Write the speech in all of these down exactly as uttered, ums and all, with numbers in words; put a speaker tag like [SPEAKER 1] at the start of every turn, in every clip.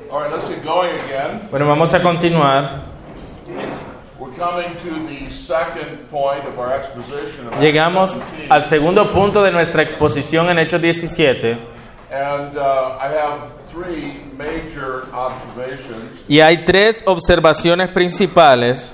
[SPEAKER 1] All right, let's get going again.
[SPEAKER 2] Bueno, vamos a continuar.
[SPEAKER 1] We're coming to the second point of our exposition of
[SPEAKER 2] Llegamos
[SPEAKER 1] Acts seventeen.
[SPEAKER 2] al segundo punto de nuestra exposición en Hechos diecisiete.
[SPEAKER 1] And uh, I have three major observations
[SPEAKER 2] Y hay tres observaciones principales,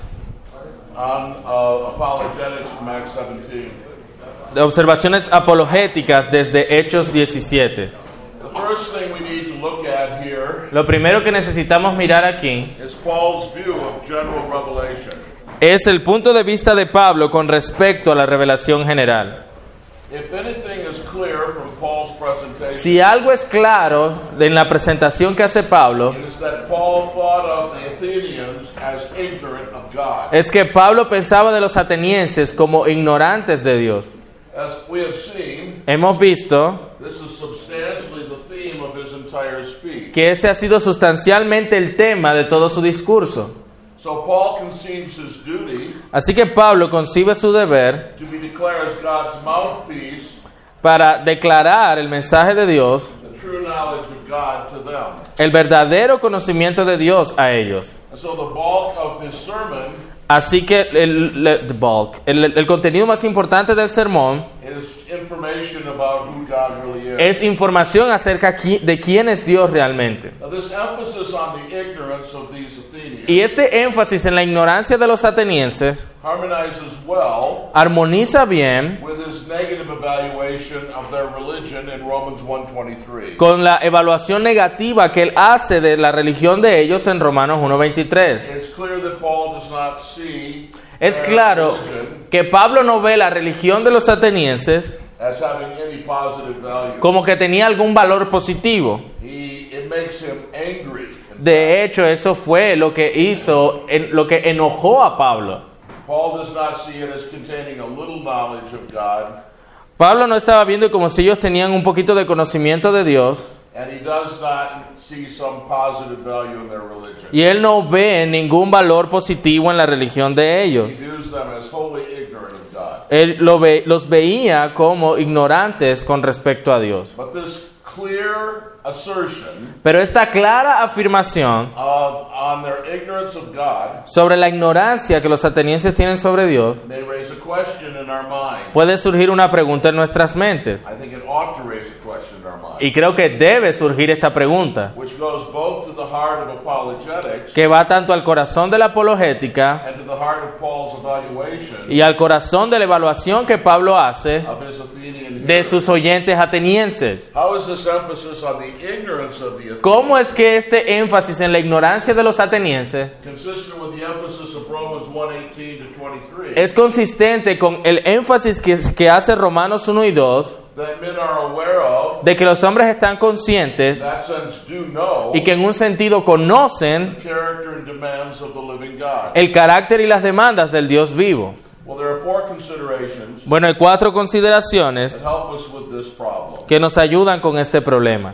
[SPEAKER 1] on uh, apologetics from Acts seventeen.
[SPEAKER 2] de observaciones apologéticas desde Hechos diecisiete.
[SPEAKER 1] The first thing we need to look at here
[SPEAKER 2] Lo primero que necesitamos mirar aquí
[SPEAKER 1] is Paul's view of general revelation.
[SPEAKER 2] es el punto de vista de Pablo con respecto a la revelación general.
[SPEAKER 1] If anything is clear from Paul's presentation,
[SPEAKER 2] Si algo es claro en la presentación que hace Pablo,
[SPEAKER 1] it is that Paul thought of the Athenians as ignorant of God.
[SPEAKER 2] es que Pablo pensaba de los atenienses como ignorantes de Dios.
[SPEAKER 1] As we have seen,
[SPEAKER 2] Hemos visto
[SPEAKER 1] this is substantially the theme of his entire speech.
[SPEAKER 2] que ese ha sido sustancialmente el tema de todo su discurso.
[SPEAKER 1] So Paul conceives his duty
[SPEAKER 2] Así que Pablo concibe su deber
[SPEAKER 1] to be declared as God's mouthpiece,
[SPEAKER 2] para declarar el mensaje de Dios,
[SPEAKER 1] the true knowledge of God to them.
[SPEAKER 2] el verdadero conocimiento de Dios a ellos.
[SPEAKER 1] And so the bulk of his sermon
[SPEAKER 2] Así que el, el, the bulk, el, el contenido más importante del sermón
[SPEAKER 1] is information about who God really is.
[SPEAKER 2] es información acerca qui- de quién es Dios realmente.
[SPEAKER 1] Now this emphasis on the ignorance of these Athenians
[SPEAKER 2] Y este énfasis en la ignorancia de los atenienses
[SPEAKER 1] harmonizes well
[SPEAKER 2] armoniza bien
[SPEAKER 1] with his negative evaluation of their religion in Romans one twenty-three.
[SPEAKER 2] con la evaluación negativa que él hace de la religión de ellos en Romanos uno veintitrés.
[SPEAKER 1] It's clear that Paul does not see
[SPEAKER 2] Es
[SPEAKER 1] their
[SPEAKER 2] claro
[SPEAKER 1] religion
[SPEAKER 2] que Pablo no ve la religión de los atenienses
[SPEAKER 1] as having any positive value.
[SPEAKER 2] como que tenía algún valor positivo.
[SPEAKER 1] He, it makes him angry.
[SPEAKER 2] De hecho, eso fue lo que hizo, en- lo que enojó a Pablo.
[SPEAKER 1] Paul does not see it as containing a little knowledge of God,
[SPEAKER 2] Pablo no estaba viendo como si ellos tenían un poquito de conocimiento de Dios,
[SPEAKER 1] and he does not see some positive value in their religion.
[SPEAKER 2] y él no ve ningún valor positivo en la religión de
[SPEAKER 1] He
[SPEAKER 2] ellos.
[SPEAKER 1] views them as wholly ignorant of God.
[SPEAKER 2] Él lo ve- los veía como ignorantes con respecto a Dios.
[SPEAKER 1] But this clear assertion
[SPEAKER 2] Pero esta clara afirmación
[SPEAKER 1] of on their ignorance of God
[SPEAKER 2] sobre la ignorancia que los atenienses tienen sobre Dios
[SPEAKER 1] may raise a question in our mind.
[SPEAKER 2] puede surgir una pregunta en nuestras mentes.
[SPEAKER 1] I think it ought to raise a question in our mind,
[SPEAKER 2] Y creo que debe surgir esta pregunta,
[SPEAKER 1] which goes both to the heart of apologetics
[SPEAKER 2] que va tanto al corazón de la apologética
[SPEAKER 1] and to the heart of Paul's evaluation
[SPEAKER 2] y al corazón de la evaluación que Pablo hace
[SPEAKER 1] of his Athenian
[SPEAKER 2] de
[SPEAKER 1] hearers.
[SPEAKER 2] sus oyentes atenienses.
[SPEAKER 1] How is this emphasis on the ignorance of the
[SPEAKER 2] ¿Cómo
[SPEAKER 1] Athenians
[SPEAKER 2] es que este énfasis en la ignorancia de los atenienses
[SPEAKER 1] consistent with the emphasis of Romans one eighteen to twenty-three
[SPEAKER 2] es consistente con el énfasis que, que hace Romanos uno y dos
[SPEAKER 1] that men are aware of,
[SPEAKER 2] de que los hombres están conscientes
[SPEAKER 1] in that sense do know,
[SPEAKER 2] y que en un sentido conocen
[SPEAKER 1] the character and demands of the living God?
[SPEAKER 2] el carácter y las demandas del Dios vivo?
[SPEAKER 1] Well, there are four considerations
[SPEAKER 2] Bueno, hay cuatro consideraciones
[SPEAKER 1] that help us with this problem.
[SPEAKER 2] que nos ayudan con este problema.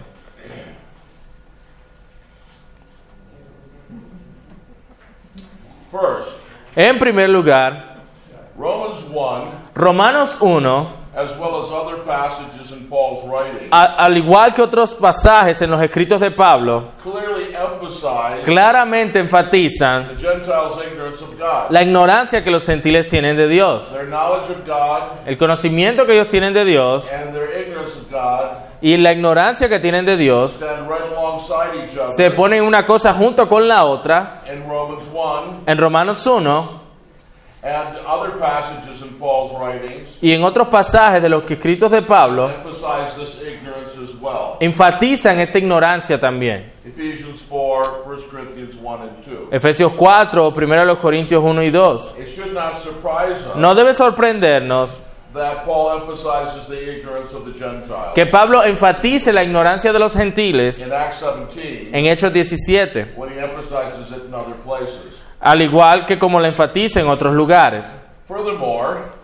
[SPEAKER 1] First,
[SPEAKER 2] En primer lugar,
[SPEAKER 1] Romans one,
[SPEAKER 2] Romanos uno,
[SPEAKER 1] as well as other passages in Paul's writing,
[SPEAKER 2] a- al igual que otros pasajes en los escritos de Pablo,
[SPEAKER 1] clearly emphasize
[SPEAKER 2] claramente enfatizan
[SPEAKER 1] the Gentiles' ignorance of God.
[SPEAKER 2] la ignorancia que los gentiles tienen de Dios,
[SPEAKER 1] Their knowledge of God
[SPEAKER 2] el conocimiento que ellos tienen de Dios
[SPEAKER 1] and their ignorance of God
[SPEAKER 2] y la ignorancia que tienen de Dios
[SPEAKER 1] stand right alongside each other
[SPEAKER 2] se ponen una cosa junto con la otra
[SPEAKER 1] in Romans one
[SPEAKER 2] en Romanos uno
[SPEAKER 1] and other passages in Paul's writings
[SPEAKER 2] y en otros pasajes de los escritos de Pablo
[SPEAKER 1] emphasize this ignorance as well.
[SPEAKER 2] enfatizan esta ignorancia también.
[SPEAKER 1] Ephesians four, First Corinthians one and two.
[SPEAKER 2] Efesios cuatro, primero los Corintios uno y dos.
[SPEAKER 1] It should not surprise us
[SPEAKER 2] No debe sorprendernos
[SPEAKER 1] that Paul emphasizes the ignorance of the Gentiles.
[SPEAKER 2] que Pablo enfatice la ignorancia de los gentiles
[SPEAKER 1] In Acts seventeen,
[SPEAKER 2] en Hechos diecisiete,
[SPEAKER 1] when he emphasizes it in other places.
[SPEAKER 2] al igual que como la enfatiza en otros lugares.
[SPEAKER 1] Furthermore,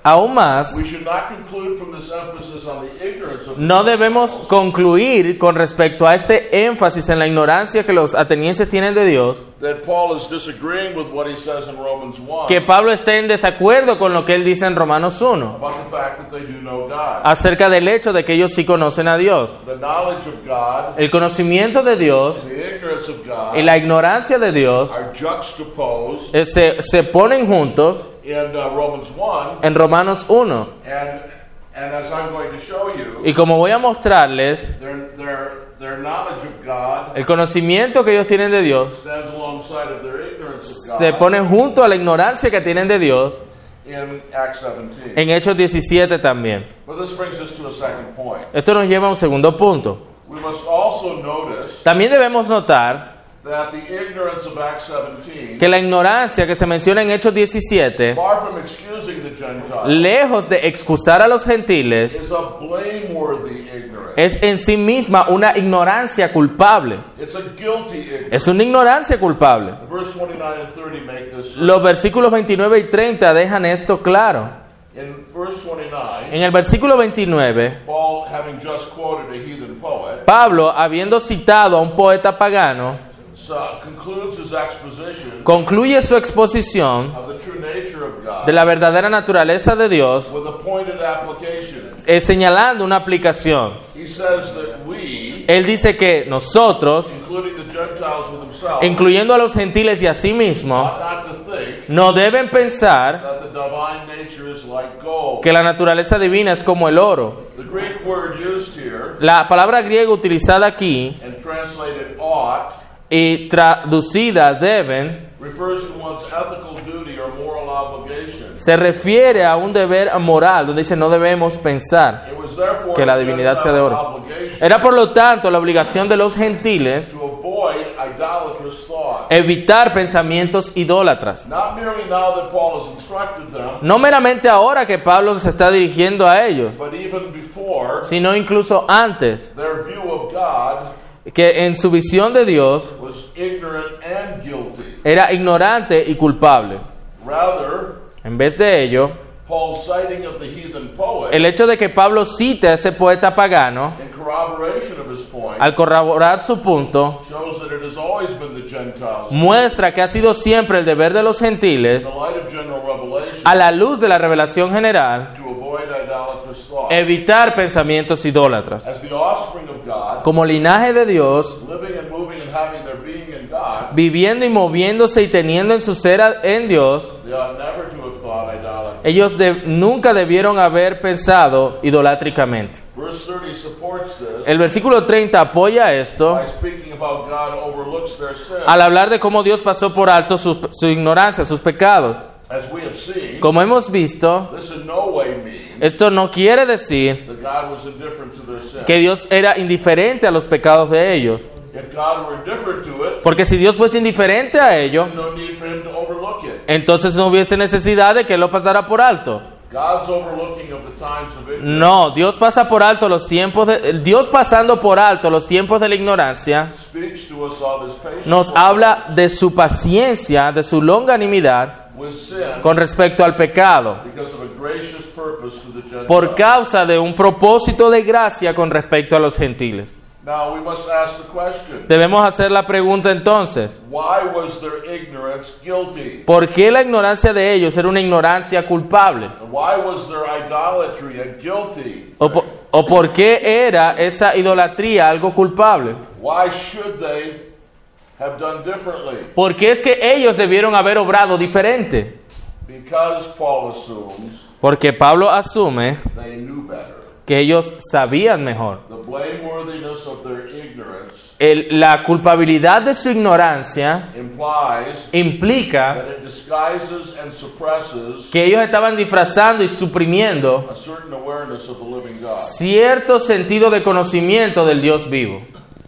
[SPEAKER 2] Aún más,
[SPEAKER 1] we should not conclude from this emphasis on the ignorance of
[SPEAKER 2] no debemos concluir con respecto a este énfasis en la ignorancia que los atenienses tienen de Dios,
[SPEAKER 1] that Paul is disagreeing with what he says in Romans one
[SPEAKER 2] que Pablo esté en desacuerdo con lo que él dice en Romanos uno,
[SPEAKER 1] about the fact that they do know God.
[SPEAKER 2] acerca del hecho de que ellos sí conocen a Dios.
[SPEAKER 1] The knowledge of God,
[SPEAKER 2] El conocimiento de Dios
[SPEAKER 1] the ignorance of God
[SPEAKER 2] y la ignorancia de Dios
[SPEAKER 1] are juxtaposed
[SPEAKER 2] eh, se, se ponen juntos
[SPEAKER 1] in uh, Romans one,
[SPEAKER 2] en Romanos uno.
[SPEAKER 1] and and as I'm going to show you,
[SPEAKER 2] Y como voy a mostrarles,
[SPEAKER 1] their their their knowledge of God
[SPEAKER 2] el conocimiento que ellos tienen de Dios
[SPEAKER 1] stands alongside of their ignorance of God
[SPEAKER 2] se pone junto a la ignorancia que tienen de Dios
[SPEAKER 1] in Acts seventeen.
[SPEAKER 2] en Hechos diecisiete también.
[SPEAKER 1] But this brings us to a second point.
[SPEAKER 2] Esto nos lleva a un segundo punto.
[SPEAKER 1] We must also notice
[SPEAKER 2] También debemos notar
[SPEAKER 1] that the ignorance of Acts seventeen,
[SPEAKER 2] que la ignorancia que se menciona en Hechos diecisiete,
[SPEAKER 1] far from excusing the Gentiles,
[SPEAKER 2] lejos de excusar a los gentiles,
[SPEAKER 1] is a blameworthy ignorance.
[SPEAKER 2] es en sí misma una ignorancia culpable.
[SPEAKER 1] It's a guilty ignorance.
[SPEAKER 2] Es una ignorancia culpable.
[SPEAKER 1] Verse twenty-nine and thirty make this.
[SPEAKER 2] Los versículos veintinueve y treinta dejan esto claro.
[SPEAKER 1] In verse twenty-nine,
[SPEAKER 2] En el versículo veintinueve,
[SPEAKER 1] Paul, having just quoted a heathen poet,
[SPEAKER 2] Pablo, habiendo citado a un poeta pagano,
[SPEAKER 1] so concludes his exposition
[SPEAKER 2] concluye su exposición
[SPEAKER 1] of the true nature of God
[SPEAKER 2] de la verdadera naturaleza de Dios,
[SPEAKER 1] with a pointed application.
[SPEAKER 2] eh, señalando una aplicación.
[SPEAKER 1] He says that we,
[SPEAKER 2] Él dice que nosotros,
[SPEAKER 1] including the Gentiles with himself,
[SPEAKER 2] incluyendo a los gentiles y a sí mismo,
[SPEAKER 1] ought not to think
[SPEAKER 2] no deben pensar
[SPEAKER 1] that the divine nature is like gold.
[SPEAKER 2] que la naturaleza divina es como el oro.
[SPEAKER 1] The Greek word used here
[SPEAKER 2] La palabra griega utilizada aquí
[SPEAKER 1] and translated ought
[SPEAKER 2] y traducida deben
[SPEAKER 1] refers to one's ethical duty or moral obligation.
[SPEAKER 2] se refiere a un deber moral, donde dice no debemos pensar
[SPEAKER 1] It was therefore
[SPEAKER 2] que la
[SPEAKER 1] the
[SPEAKER 2] divinidad sea de
[SPEAKER 1] Gentiles'
[SPEAKER 2] oro.
[SPEAKER 1] obligation
[SPEAKER 2] Era por lo tanto la obligación de los gentiles
[SPEAKER 1] to avoid idolatrous thought.
[SPEAKER 2] evitar pensamientos idólatras.
[SPEAKER 1] Not merely now that Paul has instructed them,
[SPEAKER 2] No meramente ahora que Pablo se está dirigiendo a ellos,
[SPEAKER 1] but even before,
[SPEAKER 2] sino incluso antes,
[SPEAKER 1] their view of God
[SPEAKER 2] que en su visión de Dios
[SPEAKER 1] was ignorant and guilty.
[SPEAKER 2] era ignorante y culpable.
[SPEAKER 1] Rather,
[SPEAKER 2] En vez de ello,
[SPEAKER 1] Paul's citing of the heathen poet
[SPEAKER 2] el hecho de que Pablo cite a ese poeta pagano,
[SPEAKER 1] in corroboration of his point
[SPEAKER 2] al corroborar su punto,
[SPEAKER 1] shows that it has always been the Gentiles, in
[SPEAKER 2] muestra que ha sido siempre el deber de los gentiles,
[SPEAKER 1] the light of general revelation,
[SPEAKER 2] a la luz de la revelación general,
[SPEAKER 1] to avoid idolatrous thought.
[SPEAKER 2] evitar pensamientos idólatras.
[SPEAKER 1] As the offspring of God,
[SPEAKER 2] Como linaje de Dios,
[SPEAKER 1] living and moving and having their being in God,
[SPEAKER 2] viviendo y moviéndose y teniendo en su ser en Dios,
[SPEAKER 1] they ought never to have thought idolatry.
[SPEAKER 2] ellos de- nunca debieron haber pensado idolátricamente.
[SPEAKER 1] Verse thirty supports this
[SPEAKER 2] El versículo treinta apoya esto
[SPEAKER 1] by speaking of how God overlooks their sin.
[SPEAKER 2] al hablar de cómo Dios pasó por alto su, su ignorancia, sus pecados.
[SPEAKER 1] As we have seen,
[SPEAKER 2] Como hemos visto,
[SPEAKER 1] this in no way means
[SPEAKER 2] esto no quiere decir
[SPEAKER 1] that God was indifferent to their sin.
[SPEAKER 2] que Dios era indiferente a los pecados de ellos.
[SPEAKER 1] If God were indifferent to it,
[SPEAKER 2] Porque si Dios fuese indiferente a ello,
[SPEAKER 1] there's no need for him to overlook it.
[SPEAKER 2] entonces no hubiese necesidad de que Él lo pasara por alto.
[SPEAKER 1] God's overlooking of the times of ignorance
[SPEAKER 2] No, Dios pasa por alto los tiempos de Dios pasando por alto los tiempos de la ignorancia,
[SPEAKER 1] speaks to us of his patience
[SPEAKER 2] nos habla de su paciencia, de su longanimidad
[SPEAKER 1] with sin
[SPEAKER 2] con respecto al pecado,
[SPEAKER 1] because of a gracious purpose to the Gentiles.
[SPEAKER 2] por causa de un propósito de gracia con respecto a los gentiles.
[SPEAKER 1] Now we must ask the question,
[SPEAKER 2] Debemos hacer la pregunta entonces,
[SPEAKER 1] why was their ignorance guilty?
[SPEAKER 2] ¿por qué la ignorancia de ellos era una ignorancia culpable?
[SPEAKER 1] And why was their idolatry a guilty?
[SPEAKER 2] ¿O, po- o por qué era esa idolatría algo culpable?
[SPEAKER 1] Why should they have done differently?
[SPEAKER 2] ¿Por qué es que ellos debieron haber obrado diferente?
[SPEAKER 1] Because Paul assumes
[SPEAKER 2] Porque Pablo asume
[SPEAKER 1] they knew better.
[SPEAKER 2] que ellos sabían mejor.
[SPEAKER 1] The blameworthiness of their ignorance
[SPEAKER 2] El- la culpabilidad de su ignorancia
[SPEAKER 1] implies
[SPEAKER 2] implica
[SPEAKER 1] that it disguises and suppresses
[SPEAKER 2] que ellos estaban disfrazando y suprimiendo
[SPEAKER 1] a certain awareness of the living God.
[SPEAKER 2] cierto sentido de conocimiento del Dios vivo.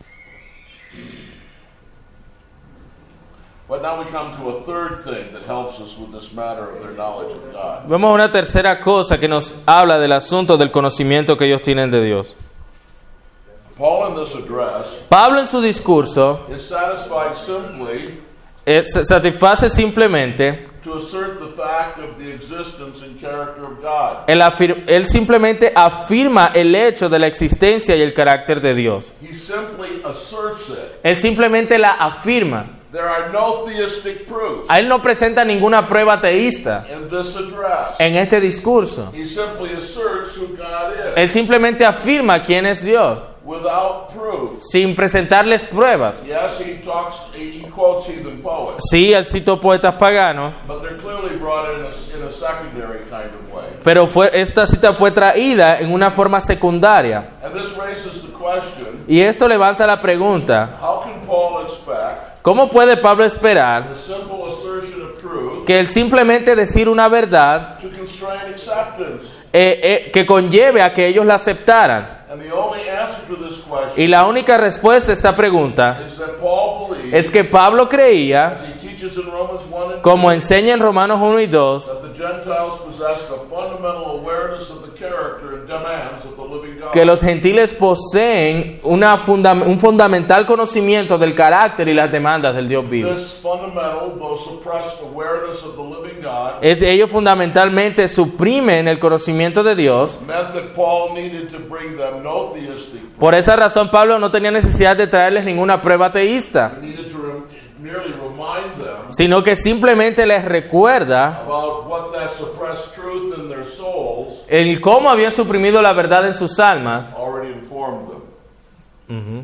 [SPEAKER 1] But now we come to a third thing that helps us with this matter of their knowledge of God.
[SPEAKER 2] Vemos una tercera cosa que nos habla del asunto del conocimiento que ellos tienen de Dios.
[SPEAKER 1] Paul in this address
[SPEAKER 2] Pablo en su discurso
[SPEAKER 1] is satisfied simply
[SPEAKER 2] eh, se satisface simplemente
[SPEAKER 1] to to assert the fact of the existence and character of God.
[SPEAKER 2] Él, afir- él simplemente afirma el hecho de la existencia y el carácter de Dios.
[SPEAKER 1] He simply asserts it.
[SPEAKER 2] Él simplemente la afirma.
[SPEAKER 1] There are no theistic proofs
[SPEAKER 2] A él no presenta ninguna prueba teísta
[SPEAKER 1] in this address.
[SPEAKER 2] en este discurso.
[SPEAKER 1] He simply asserts who God is
[SPEAKER 2] Él simplemente afirma quién es Dios,
[SPEAKER 1] without proof.
[SPEAKER 2] sin presentarles pruebas.
[SPEAKER 1] Yes, he talks, he quotes heathen poets,
[SPEAKER 2] Sí, él citó poetas paganos,
[SPEAKER 1] but they're clearly brought in a, in a secondary kind of way.
[SPEAKER 2] pero fue, esta cita fue traída en una forma secundaria.
[SPEAKER 1] And this raises the question,
[SPEAKER 2] Y esto levanta la pregunta,
[SPEAKER 1] how can Paul expect
[SPEAKER 2] ¿cómo puede Pablo esperar
[SPEAKER 1] the simple assertion of truth
[SPEAKER 2] que el simplemente decir una verdad
[SPEAKER 1] to constrain acceptance?
[SPEAKER 2] eh, eh, que conlleve a que ellos la aceptaran?
[SPEAKER 1] And the only answer to this question
[SPEAKER 2] Y la única respuesta a esta pregunta
[SPEAKER 1] is that Paul believes,
[SPEAKER 2] es que Pablo creía,
[SPEAKER 1] as he teaches in Romans one and
[SPEAKER 2] como
[SPEAKER 1] two,
[SPEAKER 2] enseña en Romanos uno y dos,
[SPEAKER 1] that the Gentiles possessed a fundamental awareness of the character and demands of the living God.
[SPEAKER 2] que los gentiles poseen una funda- un fundamental conocimiento del carácter y las demandas del Dios vivo.
[SPEAKER 1] This fundamental, though suppressed awareness of the living God
[SPEAKER 2] Es, ellos fundamentalmente suprimen el conocimiento de Dios.
[SPEAKER 1] meant that Paul needed to bring them no theistic proof.
[SPEAKER 2] Por esa razón Pablo no tenía necesidad de traerles ninguna prueba teísta,
[SPEAKER 1] He needed to rem- merely remind them
[SPEAKER 2] sino que simplemente les recuerda
[SPEAKER 1] about what that suppressed truth in their souls
[SPEAKER 2] el cómo habían suprimido la verdad en sus almas.
[SPEAKER 1] already informed them.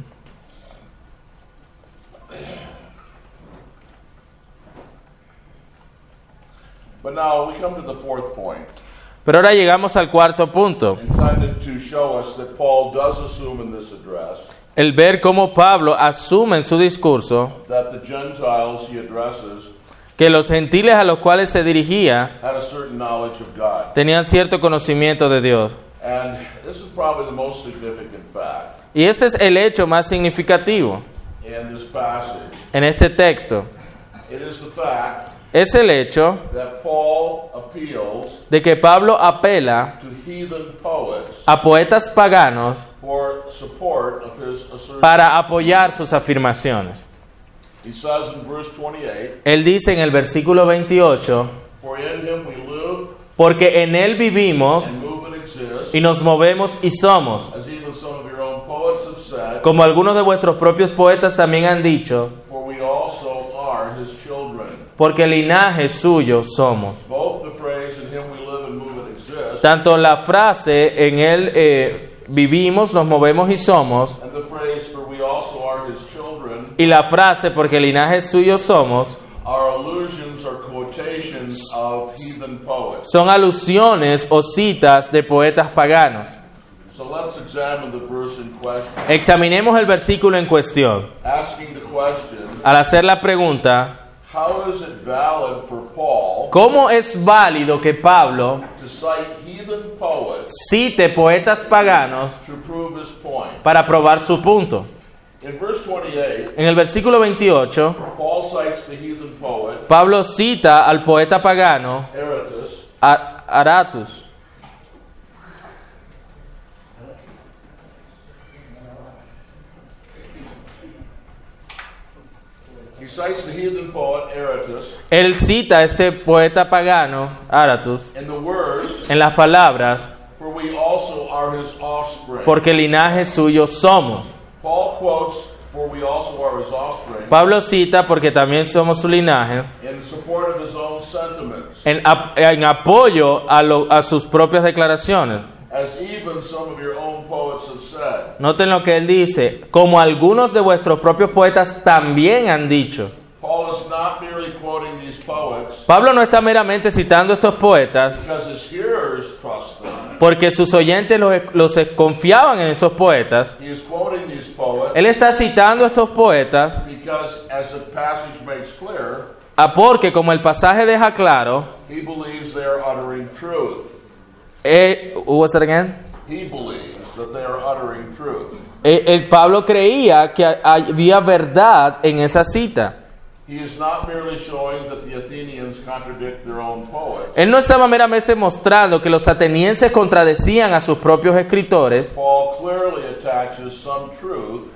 [SPEAKER 1] But now we come to the fourth point,
[SPEAKER 2] Pero ahora llegamos al cuarto punto,
[SPEAKER 1] intended to show us that Paul does assume in this address
[SPEAKER 2] el ver cómo Pablo asume en su discurso
[SPEAKER 1] that the Gentiles he addresses
[SPEAKER 2] que los gentiles a los cuales se dirigía
[SPEAKER 1] had a certain knowledge of God.
[SPEAKER 2] tenían cierto conocimiento de Dios.
[SPEAKER 1] And this is probably the most significant fact
[SPEAKER 2] Y este es el hecho más significativo
[SPEAKER 1] in this passage.
[SPEAKER 2] en este texto.
[SPEAKER 1] It is the fact
[SPEAKER 2] Es el hecho
[SPEAKER 1] that Paul appeals
[SPEAKER 2] de que Pablo apela
[SPEAKER 1] to heathen poets
[SPEAKER 2] a poetas paganos
[SPEAKER 1] for support of his assertion.
[SPEAKER 2] para apoyar sus afirmaciones.
[SPEAKER 1] He says in verse twenty-eight,
[SPEAKER 2] Él dice en el versículo veintiocho,
[SPEAKER 1] for in him we live
[SPEAKER 2] porque en Él vivimos
[SPEAKER 1] and move and exist,
[SPEAKER 2] y nos movemos y somos,
[SPEAKER 1] as even some of your own poets have said,
[SPEAKER 2] como algunos de vuestros propios poetas también han dicho,
[SPEAKER 1] for we also are his children.
[SPEAKER 2] porque linaje suyo somos.
[SPEAKER 1] Both the phrase in him we live and move and exist
[SPEAKER 2] Tanto la frase en Él eh, vivimos, nos movemos y somos,
[SPEAKER 1] and the phrase for we also are his children
[SPEAKER 2] y la frase porque linaje suyo somos,
[SPEAKER 1] are allusions or quotations of heathen poets.
[SPEAKER 2] son alusiones o citas de poetas paganos.
[SPEAKER 1] So let's examine the verse in question,
[SPEAKER 2] Examinemos el versículo en cuestión.
[SPEAKER 1] asking the question,
[SPEAKER 2] Al hacer la pregunta,
[SPEAKER 1] how is it valid for Paul
[SPEAKER 2] ¿cómo es válido que Pablo
[SPEAKER 1] to cite heathen poets
[SPEAKER 2] cite poetas paganos
[SPEAKER 1] to prove his point?
[SPEAKER 2] para probar su punto?
[SPEAKER 1] In verse twenty-eight,
[SPEAKER 2] En el versículo veintiocho,
[SPEAKER 1] Paul cites the heathen poet
[SPEAKER 2] Pablo cita al poeta pagano
[SPEAKER 1] Aratus,
[SPEAKER 2] A- Aratus.
[SPEAKER 1] he cites the heathen poet Aratus
[SPEAKER 2] Él cita a este poeta pagano, Aratus,
[SPEAKER 1] in the words,
[SPEAKER 2] en las palabras,
[SPEAKER 1] for we also are his offspring.
[SPEAKER 2] porque linaje suyo somos.
[SPEAKER 1] Paul quotes, for we also are his offspring,
[SPEAKER 2] Pablo cita porque también somos su linaje,
[SPEAKER 1] in support of his own sentiments,
[SPEAKER 2] en, ap- en apoyo a, lo- a sus propias declaraciones.
[SPEAKER 1] as even some of your own poets have said.
[SPEAKER 2] Noten lo que él dice, como algunos de vuestros propios poetas también han dicho.
[SPEAKER 1] Paul is not merely quoting these poets
[SPEAKER 2] Pablo no está meramente citando a estos poetas
[SPEAKER 1] because his hearers trust them.
[SPEAKER 2] porque sus oyentes los, los confiaban en esos poetas.
[SPEAKER 1] He is quoting these poets
[SPEAKER 2] Él está citando a estos poetas
[SPEAKER 1] because, as the passage makes clear,
[SPEAKER 2] a porque, como el pasaje deja claro,
[SPEAKER 1] he believes they are uttering truth.
[SPEAKER 2] eh, what's that again?
[SPEAKER 1] He believes that they are uttering truth.
[SPEAKER 2] Eh, el Pablo creía que había verdad en esa cita.
[SPEAKER 1] He is not merely showing that the Athenians contradict their own poets.
[SPEAKER 2] Él no estaba meramente mostrando que los atenienses contradecían a sus propios escritores,
[SPEAKER 1] Paul clearly attaches some truth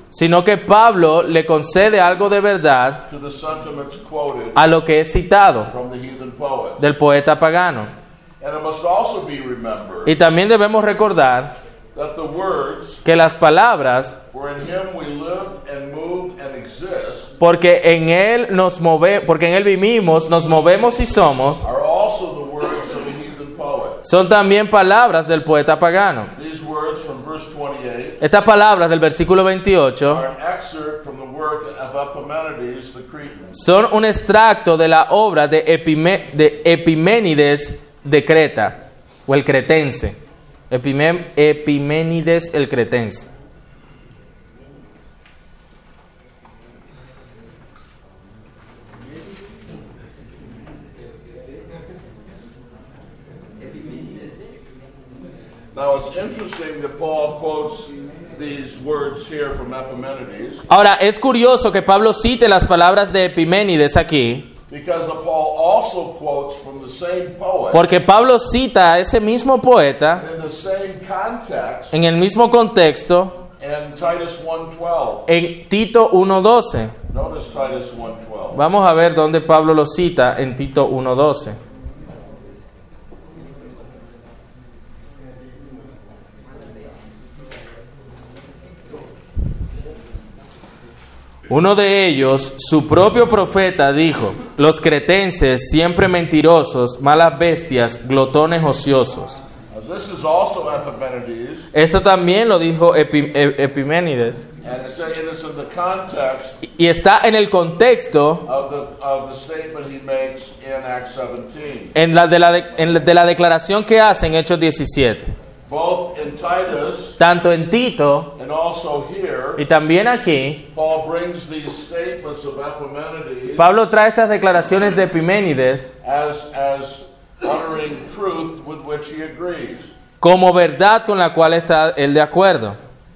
[SPEAKER 2] sino que Pablo le concede algo de verdad
[SPEAKER 1] to the sentiments quoted
[SPEAKER 2] a lo que es citado
[SPEAKER 1] from the heathen poets.
[SPEAKER 2] del poeta pagano.
[SPEAKER 1] And it must also be remembered
[SPEAKER 2] Y también debemos recordar
[SPEAKER 1] that the words,
[SPEAKER 2] que las palabras,
[SPEAKER 1] for in him we live and move and exist,
[SPEAKER 2] porque en él nos move, porque en él vivimos, nos movemos y somos,
[SPEAKER 1] are also the words of the heathen poet.
[SPEAKER 2] son también palabras del poeta pagano.
[SPEAKER 1] These words from verse twenty-eight
[SPEAKER 2] Estas palabras del versículo veintiocho
[SPEAKER 1] are an excerpt from the work of Epimenides the Cretan.
[SPEAKER 2] son un extracto de la obra de, Epime- de Epiménides de Creta, o el cretense. Epime- Epiménides el cretense.
[SPEAKER 1] Now it's interesting that Paul quotes these words here from Epimenides
[SPEAKER 2] Ahora, es curioso que Pablo cite las palabras de Epiménides aquí,
[SPEAKER 1] because Paul also quotes from the same poet
[SPEAKER 2] porque Pablo cita a ese mismo poeta
[SPEAKER 1] in the same context
[SPEAKER 2] en el mismo contexto
[SPEAKER 1] in Titus one twelve.
[SPEAKER 2] en Tito uno doce.
[SPEAKER 1] Notice Titus one twelve.
[SPEAKER 2] Vamos a ver dónde Pablo lo cita en Tito uno doce. Uno de ellos, su propio profeta, dijo: los cretenses, siempre mentirosos, malas bestias, glotones ociosos.
[SPEAKER 1] Now, this is also Epimenides,
[SPEAKER 2] Esto también lo dijo Epi- E- Epiménides.
[SPEAKER 1] and it's, and it's in the context
[SPEAKER 2] Y está en el contexto
[SPEAKER 1] of the of the statement he makes in Acts seventeen.
[SPEAKER 2] en la de, la de, en la de la declaración que hace en Hechos diecisiete.
[SPEAKER 1] Both in Titus
[SPEAKER 2] Tanto en Tito
[SPEAKER 1] and also here,
[SPEAKER 2] y también aquí,
[SPEAKER 1] Paul brings these statements of Epimenides
[SPEAKER 2] Pablo trae estas declaraciones de Epiménides
[SPEAKER 1] as as uttering truth with which he agrees.
[SPEAKER 2] como verdad con la cual está él de acuerdo.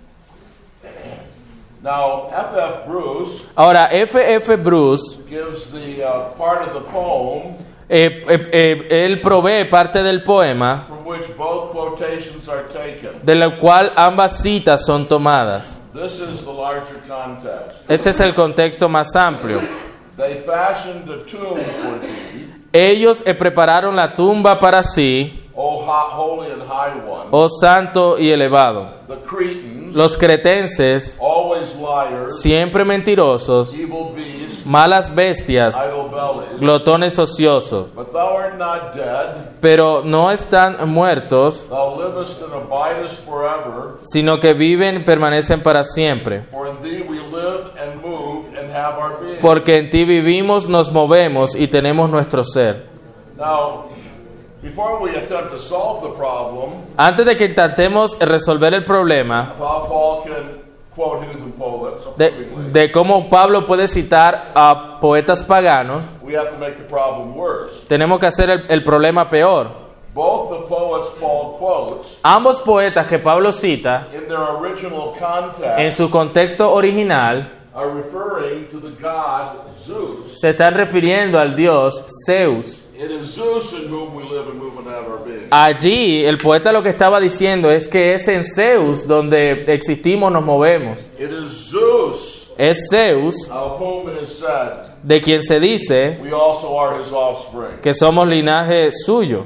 [SPEAKER 1] Now, F F Bruce
[SPEAKER 2] Ahora, F F Bruce,
[SPEAKER 1] gives the uh, part of the poem
[SPEAKER 2] eh, eh, eh, él provee parte del poema
[SPEAKER 1] from which both quotations are taken.
[SPEAKER 2] de la cual ambas citas son tomadas.
[SPEAKER 1] This is the larger context.
[SPEAKER 2] Este es el contexto más amplio.
[SPEAKER 1] They fashioned a tomb for thee,
[SPEAKER 2] Ellos eh, prepararon la tumba para sí,
[SPEAKER 1] O ho- holy and high one.
[SPEAKER 2] oh santo y elevado.
[SPEAKER 1] The Cretans,
[SPEAKER 2] Los cretenses,
[SPEAKER 1] always liars,
[SPEAKER 2] siempre mentirosos,
[SPEAKER 1] evil beasts,
[SPEAKER 2] malas bestias,
[SPEAKER 1] idle bellies.
[SPEAKER 2] glotones ociosos,
[SPEAKER 1] But thou art not dead,
[SPEAKER 2] pero no están muertos,
[SPEAKER 1] thou livest and abidest forever.
[SPEAKER 2] sino que viven, permanecen para siempre.
[SPEAKER 1] For in thee we live and move and have our being.
[SPEAKER 2] Porque en ti vivimos, nos movemos y tenemos nuestro ser.
[SPEAKER 1] Now, before we attempt to solve the problem
[SPEAKER 2] Antes de que intentemos resolver el problema
[SPEAKER 1] of how Paul can quote heathen poets
[SPEAKER 2] de,
[SPEAKER 1] approvingly,
[SPEAKER 2] de cómo Pablo puede citar a poetas paganos,
[SPEAKER 1] we have to make the problem worse.
[SPEAKER 2] tenemos que hacer el, el problema peor.
[SPEAKER 1] Both the poets Paul quotes
[SPEAKER 2] Ambos poetas que Pablo cita
[SPEAKER 1] in their original
[SPEAKER 2] en
[SPEAKER 1] context
[SPEAKER 2] su contexto original
[SPEAKER 1] are referring to the god Zeus.
[SPEAKER 2] se están refiriendo al dios Zeus.
[SPEAKER 1] It is Zeus in whom we live and move and have our being.
[SPEAKER 2] Allí el poeta lo que estaba diciendo es que es en Zeus donde existimos, nos movemos.
[SPEAKER 1] It is Zeus
[SPEAKER 2] Es Zeus
[SPEAKER 1] of whom it is said,
[SPEAKER 2] de quien se dice
[SPEAKER 1] we also are his offspring.
[SPEAKER 2] que somos linaje suyo.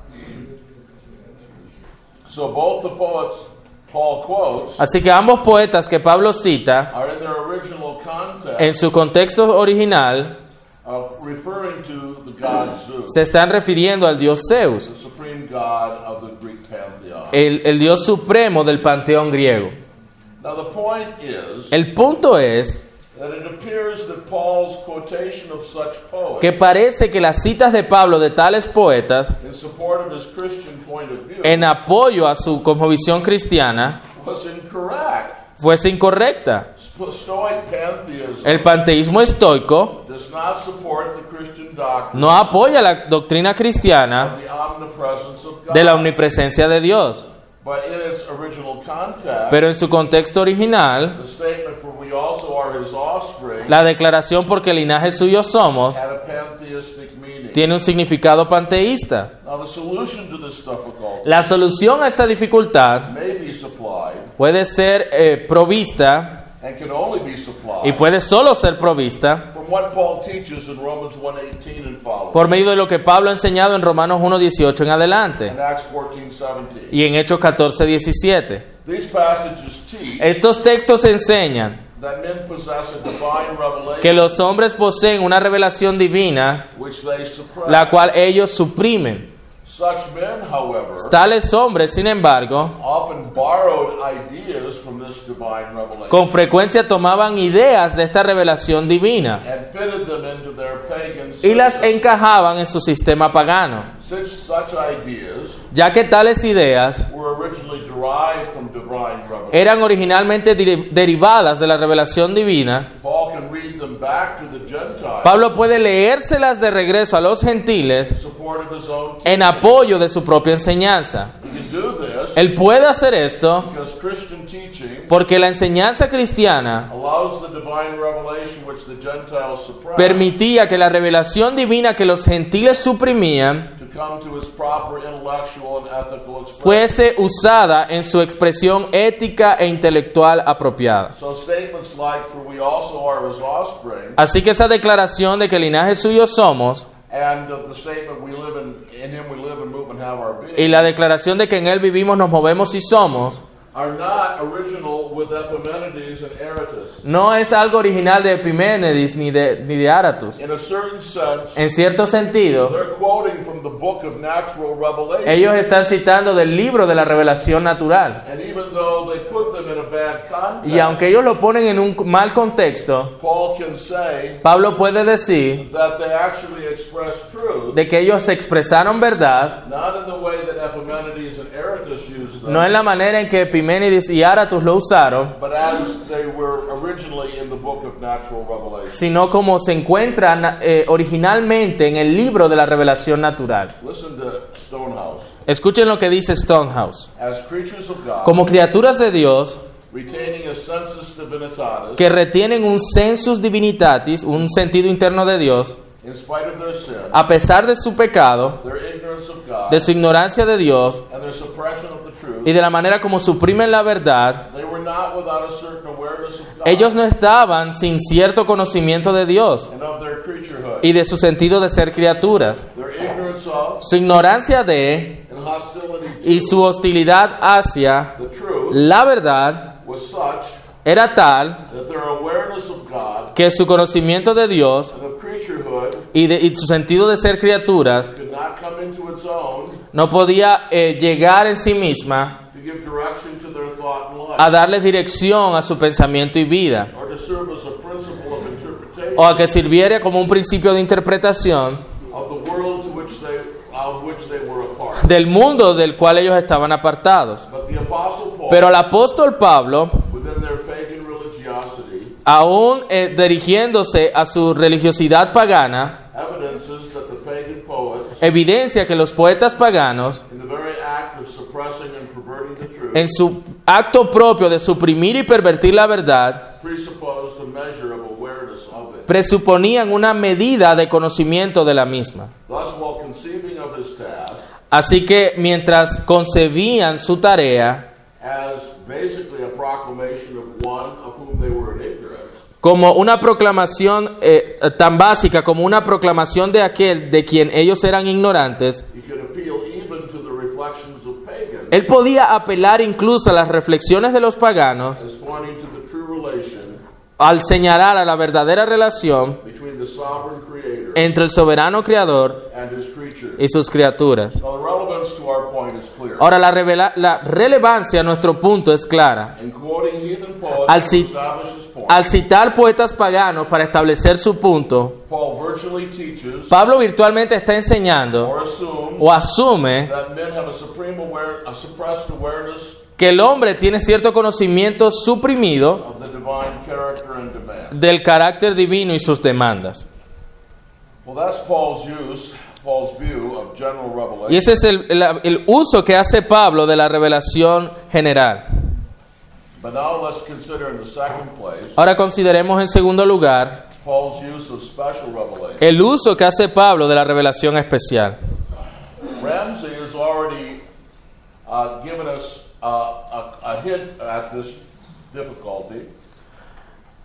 [SPEAKER 1] So both the poets Paul quotes
[SPEAKER 2] Así que ambos poetas que Pablo cita
[SPEAKER 1] are in their original context
[SPEAKER 2] en su contexto original
[SPEAKER 1] of referring to the god Zeus,
[SPEAKER 2] se están refiriendo al dios
[SPEAKER 1] the
[SPEAKER 2] Zeus,
[SPEAKER 1] supreme god of the Greek pantheon.
[SPEAKER 2] el, el dios supremo del panteón griego.
[SPEAKER 1] Now the point is
[SPEAKER 2] El punto es
[SPEAKER 1] that it appears that Paul's quotation of such poets
[SPEAKER 2] que parece que las citas de Pablo de tales poetas
[SPEAKER 1] in support of his Christian point of view
[SPEAKER 2] en apoyo a su cosmovisión cristiana
[SPEAKER 1] was incorrect.
[SPEAKER 2] fuese incorrecta.
[SPEAKER 1] Sto- Stoic pantheism
[SPEAKER 2] El panteísmo estoico
[SPEAKER 1] does not support the Christian doctrine
[SPEAKER 2] no apoya la doctrina cristiana
[SPEAKER 1] of the omnipresence of God.
[SPEAKER 2] de la omnipresencia de Dios,
[SPEAKER 1] But in its original context,
[SPEAKER 2] pero en su contexto original,
[SPEAKER 1] the statement for we also are his offspring
[SPEAKER 2] la declaración porque linaje suyo somos
[SPEAKER 1] had a pantheistic meaning.
[SPEAKER 2] tiene un significado panteísta.
[SPEAKER 1] Now the solution to this difficulty
[SPEAKER 2] La solución a esta dificultad
[SPEAKER 1] may be supplied
[SPEAKER 2] puede ser eh, provista
[SPEAKER 1] and can only be supplied
[SPEAKER 2] y puede solo ser provista
[SPEAKER 1] from what Paul teaches in Romans one eighteen and following,
[SPEAKER 2] por medio de lo que Pablo ha enseñado en Romanos uno dieciocho en adelante
[SPEAKER 1] and Acts fourteen seventeen.
[SPEAKER 2] y en Hechos catorce diecisiete.
[SPEAKER 1] These passages teach
[SPEAKER 2] Estos textos enseñan
[SPEAKER 1] that men possess a divine revelation
[SPEAKER 2] que los hombres poseen una revelación divina,
[SPEAKER 1] which they suppress.
[SPEAKER 2] la cual ellos suprimen.
[SPEAKER 1] Such men, however,
[SPEAKER 2] Tales hombres, sin embargo,
[SPEAKER 1] often borrowed ideas from this divine revelation
[SPEAKER 2] con frecuencia tomaban ideas de esta revelación divina
[SPEAKER 1] and fitted them into their pagan
[SPEAKER 2] y las
[SPEAKER 1] system.
[SPEAKER 2] encajaban en su sistema pagano,
[SPEAKER 1] Since such ideas
[SPEAKER 2] ya que tales ideas
[SPEAKER 1] were originally derived from divine revelation,
[SPEAKER 2] eran originalmente deri- derivadas de la revelación divina.
[SPEAKER 1] Paul can read them back to the Gentiles
[SPEAKER 2] Pablo puede leérselas de regreso a los gentiles
[SPEAKER 1] in support of his own teaching.
[SPEAKER 2] en apoyo de su propia enseñanza.
[SPEAKER 1] He can do this
[SPEAKER 2] Él puede hacer esto
[SPEAKER 1] because Christian teaching
[SPEAKER 2] porque la enseñanza cristiana
[SPEAKER 1] allows the divine revelation which the Gentiles suppressed
[SPEAKER 2] permitía que la revelación divina que los gentiles suprimían
[SPEAKER 1] to come to its proper intellectual and ethical expression.
[SPEAKER 2] fuese usada en su expresión ética e intelectual apropiada.
[SPEAKER 1] So statements like, "For we also are his offspring,"
[SPEAKER 2] Así que esa declaración de que el linaje suyo somos
[SPEAKER 1] and uh, the statement, "We live in, in him we live and move and have our being,"
[SPEAKER 2] y la declaración de que en él vivimos, nos movemos y somos,
[SPEAKER 1] are not original with Epimenides and Aratus.
[SPEAKER 2] no es algo original de Epimenides ni de, ni de Aratus.
[SPEAKER 1] In a certain sense,
[SPEAKER 2] En cierto sentido,
[SPEAKER 1] they're quoting from the book of natural revelation.
[SPEAKER 2] ellos están citando del libro de la revelación natural.
[SPEAKER 1] And even though they put them in a bad context,
[SPEAKER 2] Y aunque ellos lo ponen en un mal contexto,
[SPEAKER 1] Paul can say
[SPEAKER 2] Pablo puede decir
[SPEAKER 1] that they actually express truth,
[SPEAKER 2] de que ellos expresaron verdad,
[SPEAKER 1] not in the way that Epimenides and Aratus used them,
[SPEAKER 2] no en la manera en que Epimenides y Aratus lo usaron,
[SPEAKER 1] but as they were originally in the book of natural revelation.
[SPEAKER 2] sino como se encuentran eh, originalmente en el libro de la revelación natural.
[SPEAKER 1] Listen to Stonehouse.
[SPEAKER 2] Escuchen lo que dice Stonehouse.
[SPEAKER 1] As creatures of God,
[SPEAKER 2] Como criaturas de Dios
[SPEAKER 1] retaining a sensus divinitatis,
[SPEAKER 2] que retienen un sensus divinitatis, un sentido interno de Dios,
[SPEAKER 1] in spite of their sin,
[SPEAKER 2] a pesar de su pecado,
[SPEAKER 1] their ignorance of God,
[SPEAKER 2] de su ignorancia de Dios
[SPEAKER 1] and their suppression of the truth,
[SPEAKER 2] y de la manera como suprimen la verdad,
[SPEAKER 1] they were not without a certain awareness of God
[SPEAKER 2] ellos no estaban sin cierto conocimiento de Dios
[SPEAKER 1] and of their creaturehood.
[SPEAKER 2] y de su sentido de ser criaturas.
[SPEAKER 1] Their ignorance of
[SPEAKER 2] Su ignorancia de
[SPEAKER 1] and hostility to
[SPEAKER 2] y su hostilidad hacia
[SPEAKER 1] the truth
[SPEAKER 2] la verdad
[SPEAKER 1] was such
[SPEAKER 2] era tal
[SPEAKER 1] that their awareness of God
[SPEAKER 2] que su conocimiento de Dios
[SPEAKER 1] and of creaturehood
[SPEAKER 2] y, de, y su sentido de ser criaturas
[SPEAKER 1] could not come into its own
[SPEAKER 2] no podía eh, llegar en sí misma
[SPEAKER 1] to give direction to their thought and life,
[SPEAKER 2] a darle dirección a su pensamiento y vida,
[SPEAKER 1] or to serve as a principle of interpretation
[SPEAKER 2] o a que sirviera como un principio de interpretación
[SPEAKER 1] of the world to which they, of which they were a part.
[SPEAKER 2] del mundo del cual ellos estaban apartados.
[SPEAKER 1] But the Apostle Paul,
[SPEAKER 2] Pero el apóstol Pablo,
[SPEAKER 1] within their pagan religiosity,
[SPEAKER 2] aún eh, dirigiéndose a su religiosidad pagana,
[SPEAKER 1] evidences that the pagan poets,
[SPEAKER 2] evidencia que los poetas paganos,
[SPEAKER 1] in the very act of suppressing and perverting the truth,
[SPEAKER 2] en su acto propio de suprimir y pervertir la verdad,
[SPEAKER 1] presupposed a measure of awareness of it.
[SPEAKER 2] presuponían una medida de conocimiento de la misma.
[SPEAKER 1] Thus, while conceiving of his task
[SPEAKER 2] Así que mientras concebían su tarea
[SPEAKER 1] as basically a proclamation of one of whom they were in ignorance,
[SPEAKER 2] como una proclamación eh, tan básica como una proclamación de aquel de quien ellos eran ignorantes,
[SPEAKER 1] he could appeal even to the reflections of pagans
[SPEAKER 2] él podía apelar incluso a las reflexiones de los paganos
[SPEAKER 1] as pointing to the true relation
[SPEAKER 2] al señalar a la verdadera relación
[SPEAKER 1] between the sovereign creator
[SPEAKER 2] entre el soberano creador
[SPEAKER 1] and his creature.
[SPEAKER 2] y sus criaturas.
[SPEAKER 1] Now, the relevance to our point is clear.
[SPEAKER 2] Ahora, la, revela- la relevancia a nuestro punto es clara.
[SPEAKER 1] In quoting heathen poets
[SPEAKER 2] Al
[SPEAKER 1] to
[SPEAKER 2] ci-
[SPEAKER 1] establish his point,
[SPEAKER 2] Al citar poetas paganos para establecer su punto,
[SPEAKER 1] Paul virtually teaches
[SPEAKER 2] Pablo virtualmente está enseñando
[SPEAKER 1] or assumes
[SPEAKER 2] o asume
[SPEAKER 1] that men have a supreme aware, a suppressed awareness
[SPEAKER 2] que el hombre tiene cierto conocimiento suprimido
[SPEAKER 1] of the divine character and demand.
[SPEAKER 2] del carácter divino y sus demandas.
[SPEAKER 1] Well, that's Paul's use, Paul's view of general
[SPEAKER 2] Y
[SPEAKER 1] revelation.
[SPEAKER 2] ese es el, el- el uso que hace Pablo de la revelación general.
[SPEAKER 1] But now let's consider in the second place
[SPEAKER 2] Ahora consideremos en segundo lugar
[SPEAKER 1] Paul's use of special revelation.
[SPEAKER 2] el uso que hace Pablo de la revelación especial.
[SPEAKER 1] Ramsey has already uh, given us uh, a, a hint at this difficulty.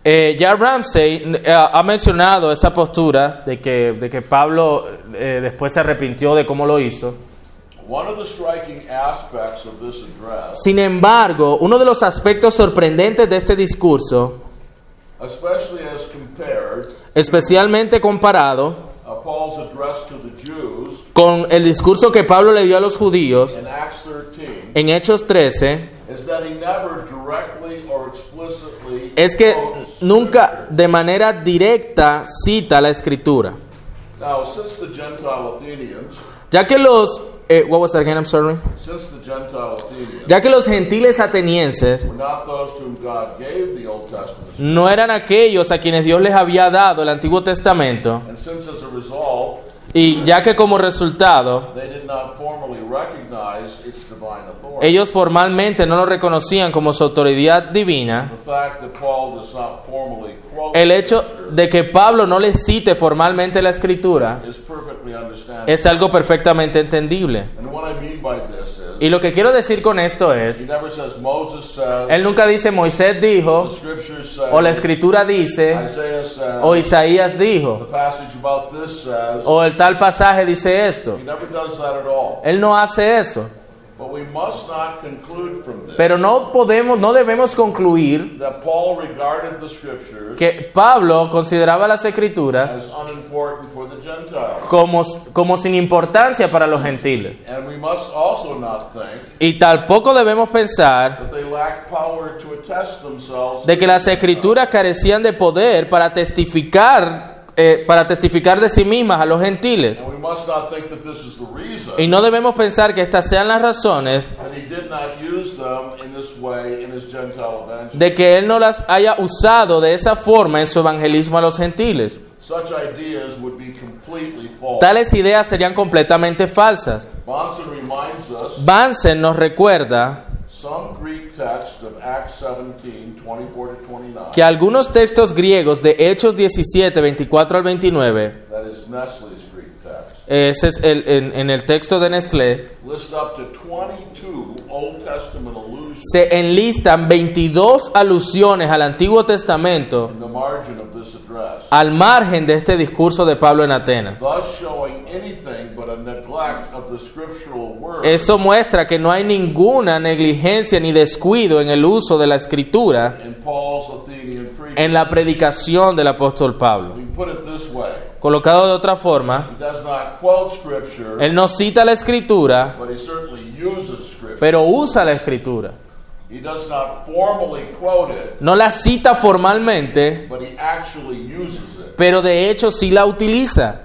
[SPEAKER 2] Eh, ya Ramsey eh, ha mencionado esa postura de que, de que Pablo eh, después se arrepintió de cómo lo hizo.
[SPEAKER 1] One of the striking aspects of this address,
[SPEAKER 2] Sin embargo, uno de los aspectos sorprendentes de este discurso,
[SPEAKER 1] especially as compared
[SPEAKER 2] especialmente comparado
[SPEAKER 1] uh, Paul's address to the Jews
[SPEAKER 2] con el discurso que Pablo le dio a los judíos
[SPEAKER 1] in Acts thirteen,
[SPEAKER 2] en Hechos trece,
[SPEAKER 1] is that he never directly or explicitly
[SPEAKER 2] es que
[SPEAKER 1] quotes
[SPEAKER 2] nunca
[SPEAKER 1] Scripture.
[SPEAKER 2] de manera directa cita la Escritura.
[SPEAKER 1] Now, since the Gentile Athenians,
[SPEAKER 2] Ya que los eh, what was that again? I'm sorry.
[SPEAKER 1] since the Gentile Athenians
[SPEAKER 2] Ya que los gentiles atenienses
[SPEAKER 1] were not those to whom God gave the Old Testament,
[SPEAKER 2] no eran aquellos a quienes Dios les había dado el Antiguo Testamento,
[SPEAKER 1] and since as a result
[SPEAKER 2] y ya que como resultado
[SPEAKER 1] they did not formally recognize its divine authority,
[SPEAKER 2] ellos formalmente no lo reconocían como su autoridad divina,
[SPEAKER 1] the fact that Paul does not formally quote
[SPEAKER 2] el hecho
[SPEAKER 1] Scripture
[SPEAKER 2] de que Pablo no le cite formalmente la Escritura
[SPEAKER 1] is perfectly understandable.
[SPEAKER 2] es algo perfectamente entendible.
[SPEAKER 1] And what I mean by this is,
[SPEAKER 2] Y lo que quiero decir con esto es,
[SPEAKER 1] he never says Moses said,
[SPEAKER 2] él nunca dice Moisés
[SPEAKER 1] the
[SPEAKER 2] dijo,
[SPEAKER 1] Scripture says,
[SPEAKER 2] o la Escritura dice,
[SPEAKER 1] Isaiah says,
[SPEAKER 2] o Isaías
[SPEAKER 1] the
[SPEAKER 2] dijo,
[SPEAKER 1] passage about this says.
[SPEAKER 2] o el tal pasaje dice esto.
[SPEAKER 1] He never does that at all.
[SPEAKER 2] Él no hace eso.
[SPEAKER 1] But we must not conclude from this
[SPEAKER 2] Pero no podemos, no debemos concluir
[SPEAKER 1] that Paul regarded the Scriptures
[SPEAKER 2] que Pablo consideraba las Escrituras
[SPEAKER 1] as unimportant for the Gentiles.
[SPEAKER 2] como, como sin importancia para los gentiles.
[SPEAKER 1] And we must also not think
[SPEAKER 2] Y tampoco debemos pensar
[SPEAKER 1] that they lack power to attest themselves
[SPEAKER 2] de que las Escrituras carecían de poder para testificar, eh, para testificar de sí mismas a los gentiles.
[SPEAKER 1] And we must not think that this is the reason
[SPEAKER 2] Y no debemos pensar que estas sean las razones
[SPEAKER 1] that he did not use them in this way in his Gentile evangelism.
[SPEAKER 2] de que él no las haya usado de esa forma en su evangelismo a los gentiles.
[SPEAKER 1] Such ideas would be completely false.
[SPEAKER 2] Tales ideas serían completamente falsas.
[SPEAKER 1] Bonson reminds us
[SPEAKER 2] Bansen nos recuerda
[SPEAKER 1] some Greek text of Acts seventeen, twenty-four to twenty-nine,
[SPEAKER 2] que algunos textos griegos de Hechos diecisiete, veinticuatro al veintinueve,
[SPEAKER 1] that is Nestle's Greek text,
[SPEAKER 2] ese es el, en, en el texto de Nestlé,
[SPEAKER 1] list up to twenty-two Old Testament allusions
[SPEAKER 2] se enlistan veintidós alusiones al Antiguo Testamento
[SPEAKER 1] in the margin of this address,
[SPEAKER 2] al margen de este discurso de Pablo en Atenas.
[SPEAKER 1] thus showing anything but a neglect of the scriptural word
[SPEAKER 2] Eso muestra que no hay ninguna negligencia ni descuido en el uso de la Escritura
[SPEAKER 1] in Paul's Athenian preaching.
[SPEAKER 2] en la predicación del apóstol Pablo.
[SPEAKER 1] We put it this way:
[SPEAKER 2] Colocado de otra forma,
[SPEAKER 1] he does not quote scripture,
[SPEAKER 2] él no cita la Escritura,
[SPEAKER 1] but he certainly uses scripture.
[SPEAKER 2] pero usa la Escritura.
[SPEAKER 1] He does not formally quote it,
[SPEAKER 2] No la cita formalmente,
[SPEAKER 1] but he actually uses it.
[SPEAKER 2] pero de hecho sí la utiliza.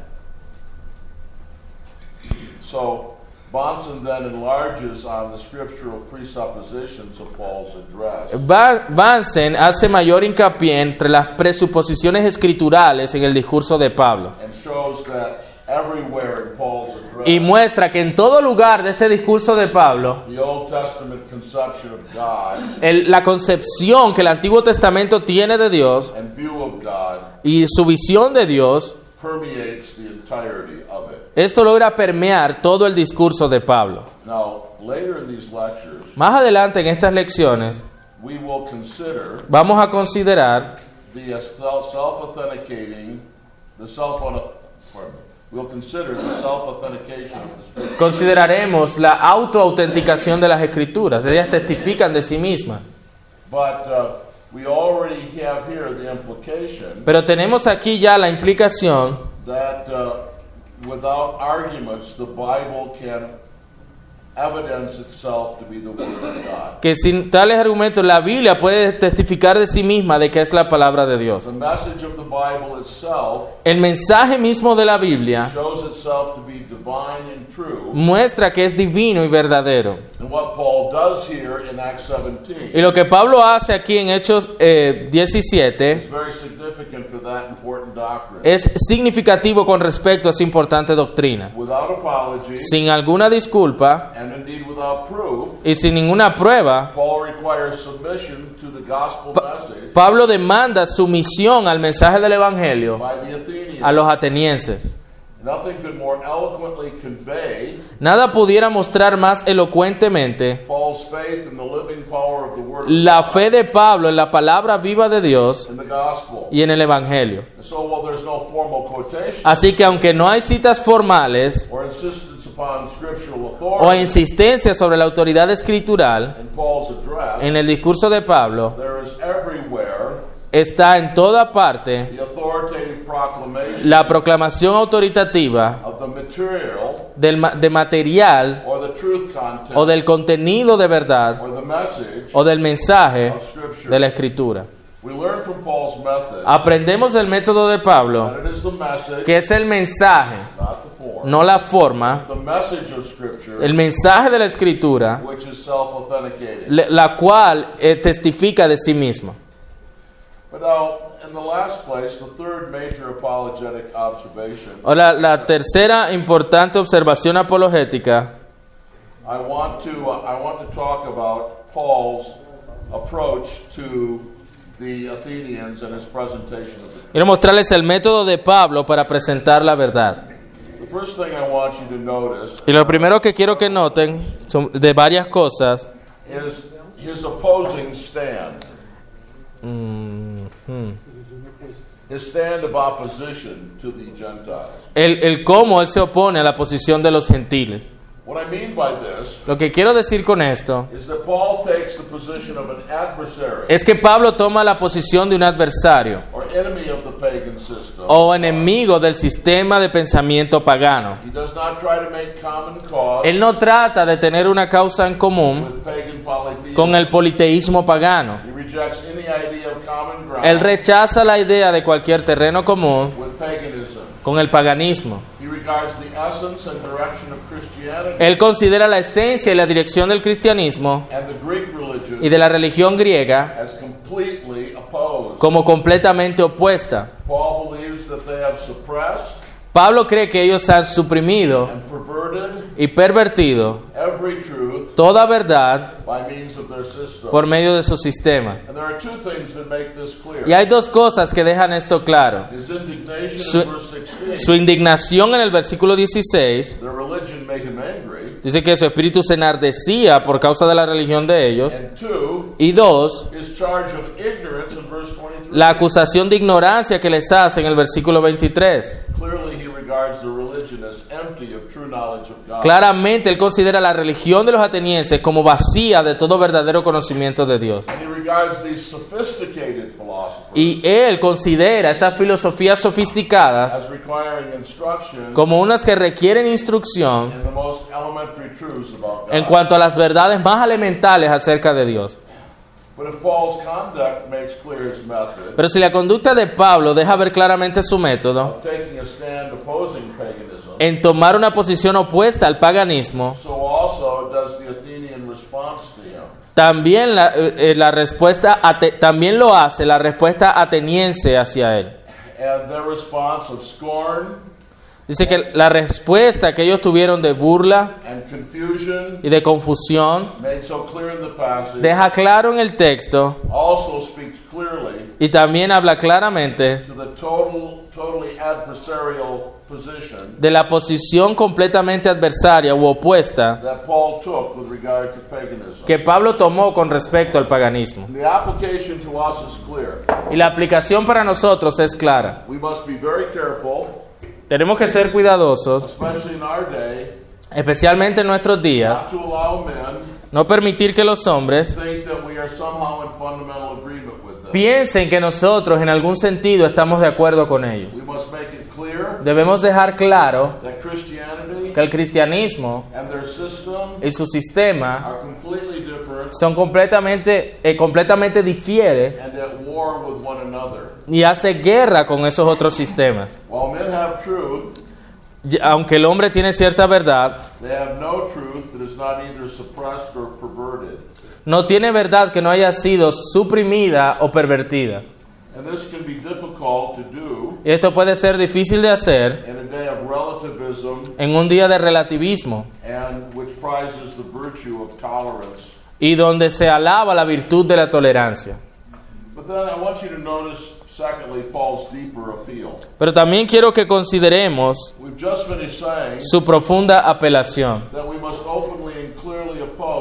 [SPEAKER 1] So Bonson then enlarges on the scriptural presuppositions of Paul's address.
[SPEAKER 2] Ba- Bansen hace mayor hincapié entre las presuposiciones escriturales en el discurso de Pablo
[SPEAKER 1] And shows that everywhere in Paul's address,
[SPEAKER 2] y muestra que en todo lugar de este discurso de Pablo,
[SPEAKER 1] the Old Testament conception of God
[SPEAKER 2] el- la concepción que el Antiguo Testamento tiene de Dios
[SPEAKER 1] and view of God
[SPEAKER 2] y su visión de Dios,
[SPEAKER 1] permeates the entirety of it.
[SPEAKER 2] esto logra permear todo el discurso de Pablo.
[SPEAKER 1] Now, later in these lectures,
[SPEAKER 2] Más adelante en estas lecciones
[SPEAKER 1] we will consider
[SPEAKER 2] vamos a considerar
[SPEAKER 1] the self-authenticating, the self pardon me, we'll consider the self-authentication of the Scripture.
[SPEAKER 2] consideraremos la autoautenticación de las Escrituras. Ellas testifican de sí mismas.
[SPEAKER 1] But uh, we already have here the implication
[SPEAKER 2] Pero tenemos aquí ya la implicación
[SPEAKER 1] that uh, without arguments, the Bible can evidence itself to be the Word of God.
[SPEAKER 2] que sin tales argumentos la Biblia puede testificar de sí misma de que es la palabra de Dios.
[SPEAKER 1] The message of the Bible itself
[SPEAKER 2] El mensaje mismo de la Biblia
[SPEAKER 1] shows itself to be divine and true.
[SPEAKER 2] muestra que es divino y verdadero.
[SPEAKER 1] And what Paul does here in Acts seventeen
[SPEAKER 2] Y lo que Pablo hace aquí en Hechos eh, diecisiete
[SPEAKER 1] is very significant for that important doctrine.
[SPEAKER 2] es significativo con respecto a esa importante doctrina.
[SPEAKER 1] Without apology,
[SPEAKER 2] Sin alguna disculpa
[SPEAKER 1] and indeed without proof,
[SPEAKER 2] y sin ninguna prueba,
[SPEAKER 1] Paul requires submission to the gospel message
[SPEAKER 2] Pablo demanda sumisión al mensaje del Evangelio
[SPEAKER 1] by the Athenians.
[SPEAKER 2] a los atenienses.
[SPEAKER 1] Nothing could more eloquently convey
[SPEAKER 2] Nada pudiera mostrar más elocuentemente
[SPEAKER 1] Paul's faith in the living power of the Word
[SPEAKER 2] la fe de Pablo en la palabra viva de Dios
[SPEAKER 1] in the gospel.
[SPEAKER 2] y en el Evangelio.
[SPEAKER 1] And so, while there's no formal quotation
[SPEAKER 2] Así que aunque no hay citas formales
[SPEAKER 1] or insistence upon scriptural
[SPEAKER 2] o
[SPEAKER 1] authority
[SPEAKER 2] insistencia sobre la autoridad escritural
[SPEAKER 1] in Paul's address,
[SPEAKER 2] en el discurso de Pablo,
[SPEAKER 1] there is everywhere
[SPEAKER 2] está en toda parte
[SPEAKER 1] the authoritative proclamation
[SPEAKER 2] la proclamación autoritativa
[SPEAKER 1] of the material
[SPEAKER 2] del ma- de material
[SPEAKER 1] or the truth content
[SPEAKER 2] o del contenido de verdad
[SPEAKER 1] or the message
[SPEAKER 2] o del mensaje
[SPEAKER 1] of Scripture.
[SPEAKER 2] de la Escritura.
[SPEAKER 1] We learn from Paul's method
[SPEAKER 2] Aprendemos del método de Pablo,
[SPEAKER 1] that it is the message,
[SPEAKER 2] que es el mensaje,
[SPEAKER 1] not the form,
[SPEAKER 2] no la forma,
[SPEAKER 1] the message of Scripture,
[SPEAKER 2] el mensaje de la Escritura,
[SPEAKER 1] which is self-authenticating.
[SPEAKER 2] le- la cual eh, testifica de sí misma.
[SPEAKER 1] But now, in the last place, the third major apologetic observation,
[SPEAKER 2] Ahora, la tercera importante observación apologética,
[SPEAKER 1] I want to uh, I want to talk about Paul's approach to the Athenians and his presentation of it.
[SPEAKER 2] quiero mostrarles el método de Pablo para presentar la verdad.
[SPEAKER 1] The first thing I want you to notice
[SPEAKER 2] Y lo primero que quiero que noten son de varias cosas.
[SPEAKER 1] is his opposing stand,
[SPEAKER 2] Mhm.
[SPEAKER 1] his stand of opposition to the Gentiles.
[SPEAKER 2] El, el cómo él se opone a la posición de los gentiles.
[SPEAKER 1] What I mean by this
[SPEAKER 2] Lo que quiero decir con esto
[SPEAKER 1] is that Paul takes the position of an adversary
[SPEAKER 2] es que Pablo toma la posición de un adversario
[SPEAKER 1] or enemy of the pagan system.
[SPEAKER 2] o enemigo del sistema de pensamiento pagano.
[SPEAKER 1] He does not try to make common cause
[SPEAKER 2] Él no trata de tener una causa en común
[SPEAKER 1] with pagan polytheism.
[SPEAKER 2] con el politeísmo pagano.
[SPEAKER 1] He rejects any idea of common ground
[SPEAKER 2] Él rechaza la idea de cualquier terreno común
[SPEAKER 1] with paganism.
[SPEAKER 2] con el paganismo.
[SPEAKER 1] He regards the essence and direction of Christianity
[SPEAKER 2] Él considera la esencia y la dirección del cristianismo
[SPEAKER 1] and the Greek religion
[SPEAKER 2] y de la religión griega
[SPEAKER 1] as completely opposed.
[SPEAKER 2] como completamente opuesta.
[SPEAKER 1] Paul believes that they have suppressed
[SPEAKER 2] Pablo cree que ellos han suprimido
[SPEAKER 1] and perverted
[SPEAKER 2] y pervertido
[SPEAKER 1] every truth
[SPEAKER 2] toda verdad
[SPEAKER 1] by means of their system.
[SPEAKER 2] por medio de su sistema.
[SPEAKER 1] And there are two things that make this clear.
[SPEAKER 2] Y hay dos cosas que dejan esto claro.
[SPEAKER 1] His indignation
[SPEAKER 2] Su,
[SPEAKER 1] in verse sixteen.
[SPEAKER 2] su indignación en el versículo dieciséis
[SPEAKER 1] Their religion made him angry.
[SPEAKER 2] dice que su espíritu se enardecía por causa de la religión de ellos.
[SPEAKER 1] And two,
[SPEAKER 2] Y dos,
[SPEAKER 1] his charge of ignorance in verse twenty-three.
[SPEAKER 2] la acusación de ignorancia que les hace en el versículo veintitrés.
[SPEAKER 1] Clearly he regards the religion as empty of true knowledge of God.
[SPEAKER 2] Claramente él considera la religión de los atenienses como vacía de todo verdadero conocimiento de Dios.
[SPEAKER 1] And he regards these sophisticated philosophers
[SPEAKER 2] Y él considera estas filosofías sofisticadas
[SPEAKER 1] as requiring instruction
[SPEAKER 2] como unas que requieren instrucción
[SPEAKER 1] in the most elementary truths about God.
[SPEAKER 2] en cuanto a las verdades más elementales acerca de Dios.
[SPEAKER 1] But if Paul's conduct makes clear his method
[SPEAKER 2] Pero si la conducta de Pablo deja ver claramente su método
[SPEAKER 1] of taking a stand opposing paganism,
[SPEAKER 2] en tomar una posición opuesta al paganismo,
[SPEAKER 1] so also does the Athenian response to him.
[SPEAKER 2] también la, eh, la respuesta ate- también lo hace la respuesta ateniense hacia él.
[SPEAKER 1] And their response of scorn
[SPEAKER 2] Dice que la respuesta que ellos tuvieron de burla
[SPEAKER 1] and confusion
[SPEAKER 2] y de confusión
[SPEAKER 1] made so clear in the passage
[SPEAKER 2] deja claro en el texto
[SPEAKER 1] also speaks clearly
[SPEAKER 2] y también habla claramente
[SPEAKER 1] to the total, totally adversarial position
[SPEAKER 2] de la posición completamente adversaria u opuesta
[SPEAKER 1] that Paul took with regard to paganism.
[SPEAKER 2] que Pablo tomó con respecto al paganismo.
[SPEAKER 1] The application to us is clear.
[SPEAKER 2] Y la aplicación para nosotros es clara.
[SPEAKER 1] We must be very careful,
[SPEAKER 2] Tenemos que ser cuidadosos,
[SPEAKER 1] especially in our day,
[SPEAKER 2] especialmente en nuestros días,
[SPEAKER 1] not to allow men
[SPEAKER 2] no permitir que los hombres
[SPEAKER 1] think that we are somehow in fundamental agreement with them.
[SPEAKER 2] piensen que nosotros en algún sentido estamos de acuerdo con ellos.
[SPEAKER 1] We must make it clear
[SPEAKER 2] Debemos dejar claro
[SPEAKER 1] that Christianity
[SPEAKER 2] que el cristianismo
[SPEAKER 1] and their system
[SPEAKER 2] y su sistema
[SPEAKER 1] are completely different
[SPEAKER 2] son completamente, eh, completamente difiere
[SPEAKER 1] and at war with one another.
[SPEAKER 2] y hace guerra con esos otros sistemas.
[SPEAKER 1] While men have truth,
[SPEAKER 2] Y aunque el hombre tiene cierta verdad,
[SPEAKER 1] they have no truth that is not either suppressed or perverted.
[SPEAKER 2] no tiene verdad que no haya sido suprimida o pervertida.
[SPEAKER 1] And this can be difficult to do
[SPEAKER 2] Y esto puede ser difícil de hacer
[SPEAKER 1] in a day of relativism
[SPEAKER 2] en un día de relativismo
[SPEAKER 1] and which prizes the virtue of tolerance.
[SPEAKER 2] y donde se alaba la virtud de la tolerancia.
[SPEAKER 1] But then I want you to notice, secondly, Paul's deeper appeal.
[SPEAKER 2] Pero también quiero que consideremos
[SPEAKER 1] We've just finished saying
[SPEAKER 2] su profunda apelación.
[SPEAKER 1] that we must openly and clearly oppose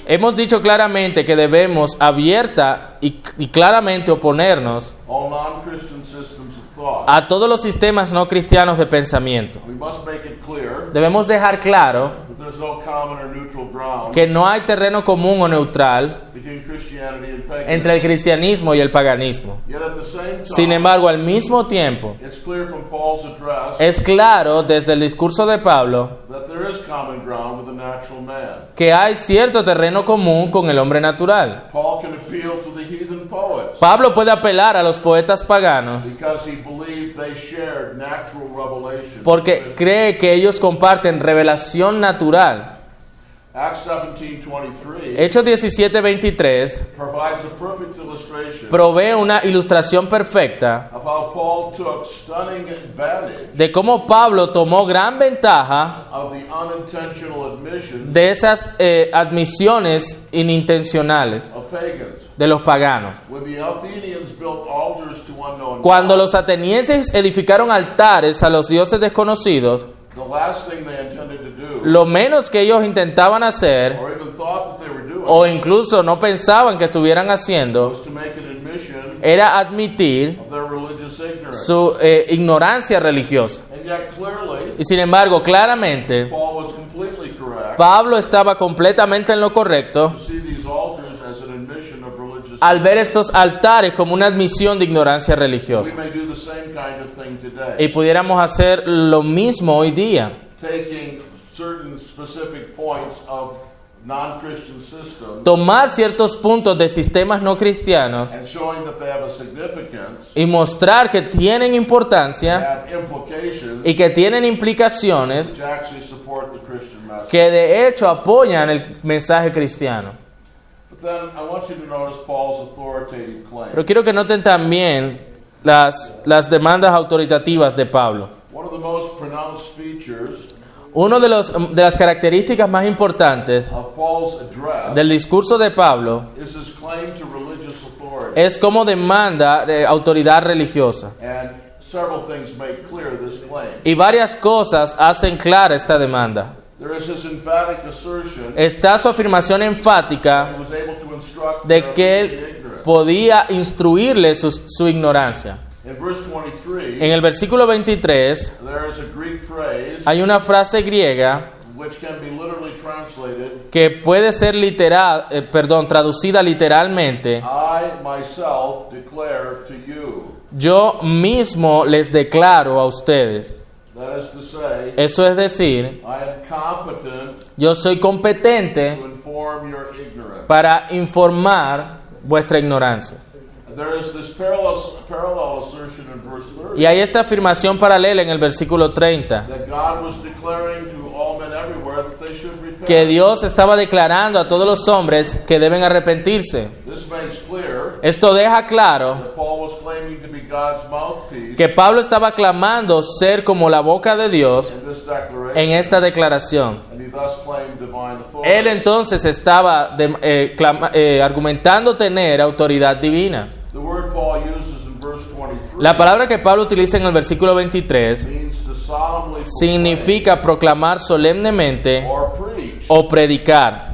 [SPEAKER 2] Hemos dicho claramente que debemos abierta y, y claramente oponernos
[SPEAKER 1] all non-Christian systems of thought.
[SPEAKER 2] a todos los sistemas no cristianos de pensamiento.
[SPEAKER 1] We must make it clear
[SPEAKER 2] Debemos dejar claro
[SPEAKER 1] that there's no common or neutral ground
[SPEAKER 2] que no hay terreno común o neutral
[SPEAKER 1] between Christianity and paganism.
[SPEAKER 2] entre el cristianismo y el paganismo.
[SPEAKER 1] Yet at the same time,
[SPEAKER 2] Sin embargo, al mismo tiempo,
[SPEAKER 1] it's clear from Paul's address
[SPEAKER 2] es claro desde el discurso de Pablo
[SPEAKER 1] that there is common ground with the natural man.
[SPEAKER 2] que hay cierto terreno común con el hombre natural.
[SPEAKER 1] Paul can appeal to the heathen poets
[SPEAKER 2] Pablo puede apelar a los poetas paganos
[SPEAKER 1] because he believed they shared natural revelation.
[SPEAKER 2] porque cree que ellos comparten revelación natural.
[SPEAKER 1] Acts seventeen twenty-three
[SPEAKER 2] Hechos diecisiete veintitrés
[SPEAKER 1] provides a perfect illustration
[SPEAKER 2] provee una ilustración perfecta
[SPEAKER 1] of how Paul took stunning advantage
[SPEAKER 2] de cómo Pablo tomó gran ventaja
[SPEAKER 1] of the unintentional admission
[SPEAKER 2] de esas eh, admisiones inintencionales
[SPEAKER 1] of pagans.
[SPEAKER 2] de los paganos.
[SPEAKER 1] When the Athenians built altars to unknown
[SPEAKER 2] Cuando
[SPEAKER 1] gods,
[SPEAKER 2] los atenienses edificaron altares a los dioses desconocidos,
[SPEAKER 1] the last thing they intended to do,
[SPEAKER 2] lo menos que ellos intentaban hacer,
[SPEAKER 1] or even thought that they were doing,
[SPEAKER 2] o incluso no pensaban que estuvieran haciendo,
[SPEAKER 1] was to make an admission
[SPEAKER 2] era admitir
[SPEAKER 1] of their religious ignorance.
[SPEAKER 2] su eh, ignorancia religiosa.
[SPEAKER 1] And yet clearly,
[SPEAKER 2] Y sin embargo, claramente,
[SPEAKER 1] Paul was completely correct
[SPEAKER 2] Pablo estaba completamente en lo correcto
[SPEAKER 1] to see these altars as an admission of religious
[SPEAKER 2] al ver estos altares como una admisión de ignorancia
[SPEAKER 1] We
[SPEAKER 2] religiosa.
[SPEAKER 1] may do the same kind of thing today,
[SPEAKER 2] Y pudiéramos hacer lo mismo hoy día,
[SPEAKER 1] taking certain specific points of non-Christian systems
[SPEAKER 2] tomar ciertos puntos de sistemas no cristianos
[SPEAKER 1] and showing that they have a significance,
[SPEAKER 2] y mostrar que tienen importancia
[SPEAKER 1] have implications
[SPEAKER 2] y que tienen implicaciones
[SPEAKER 1] which actually support the Christian message.
[SPEAKER 2] que de hecho apoyan el mensaje cristiano.
[SPEAKER 1] But then I want you to notice Paul's authoritative claim.
[SPEAKER 2] Pero quiero que noten también las, las demandas autoritativas de Pablo.
[SPEAKER 1] One of the most pronounced features
[SPEAKER 2] Una de, los, de las características más importantes
[SPEAKER 1] of Paul's address
[SPEAKER 2] del discurso de Pablo
[SPEAKER 1] is his claim to religious authority.
[SPEAKER 2] es cómo demanda eh, autoridad religiosa.
[SPEAKER 1] And several things make clear this claim.
[SPEAKER 2] Y varias cosas hacen clara esta demanda.
[SPEAKER 1] There is this emphatic assertion
[SPEAKER 2] Está su afirmación enfática
[SPEAKER 1] he was able to instruct
[SPEAKER 2] de
[SPEAKER 1] their
[SPEAKER 2] que él
[SPEAKER 1] ignorance.
[SPEAKER 2] podía instruirle su, su ignorancia.
[SPEAKER 1] In verse twenty-three,
[SPEAKER 2] En el versículo veintitrés
[SPEAKER 1] there is a Greek phrase
[SPEAKER 2] hay una frase griega
[SPEAKER 1] which can be literally translated,
[SPEAKER 2] que puede ser literal, eh, perdón, traducida literalmente.
[SPEAKER 1] I myself declare to you.
[SPEAKER 2] Yo mismo les declaro a ustedes.
[SPEAKER 1] That is to say,
[SPEAKER 2] Eso es decir,
[SPEAKER 1] I am competent
[SPEAKER 2] yo soy competente
[SPEAKER 1] to inform your ignorance.
[SPEAKER 2] para informar vuestra ignorancia.
[SPEAKER 1] There is this parallel, parallel assertion in verse thirty
[SPEAKER 2] Y hay esta afirmación paralela en el versículo treinta,
[SPEAKER 1] that God was declaring to all men everywhere that they should repent.
[SPEAKER 2] que Dios estaba declarando a todos los hombres que deben arrepentirse.
[SPEAKER 1] This makes clear
[SPEAKER 2] Esto deja claro
[SPEAKER 1] that Paul was claiming to be God's mouthpiece
[SPEAKER 2] que Pablo estaba clamando ser como la boca de Dios
[SPEAKER 1] in this declaration,
[SPEAKER 2] en esta declaración.
[SPEAKER 1] and he thus claimed divine authority.
[SPEAKER 2] Él entonces estaba de- eh, clama- eh, argumentando tener autoridad divina.
[SPEAKER 1] The word Paul uses in verse twenty-three
[SPEAKER 2] La palabra que Pablo utiliza en el versículo veintitrés
[SPEAKER 1] means to solemnly proclaim
[SPEAKER 2] significa proclamar solemnemente
[SPEAKER 1] or preach.
[SPEAKER 2] o predicar.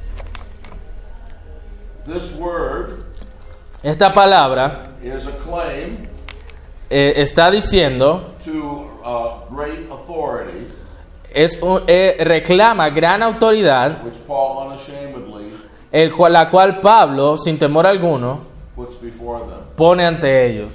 [SPEAKER 1] This word
[SPEAKER 2] Esta palabra
[SPEAKER 1] is a claim
[SPEAKER 2] eh, está diciendo,
[SPEAKER 1] to uh, great authority,
[SPEAKER 2] es un- eh, reclama gran autoridad,
[SPEAKER 1] which Paul unashamedly
[SPEAKER 2] el cual, la cual Pablo, sin temor alguno,
[SPEAKER 1] puts before them.
[SPEAKER 2] pone ante ellos.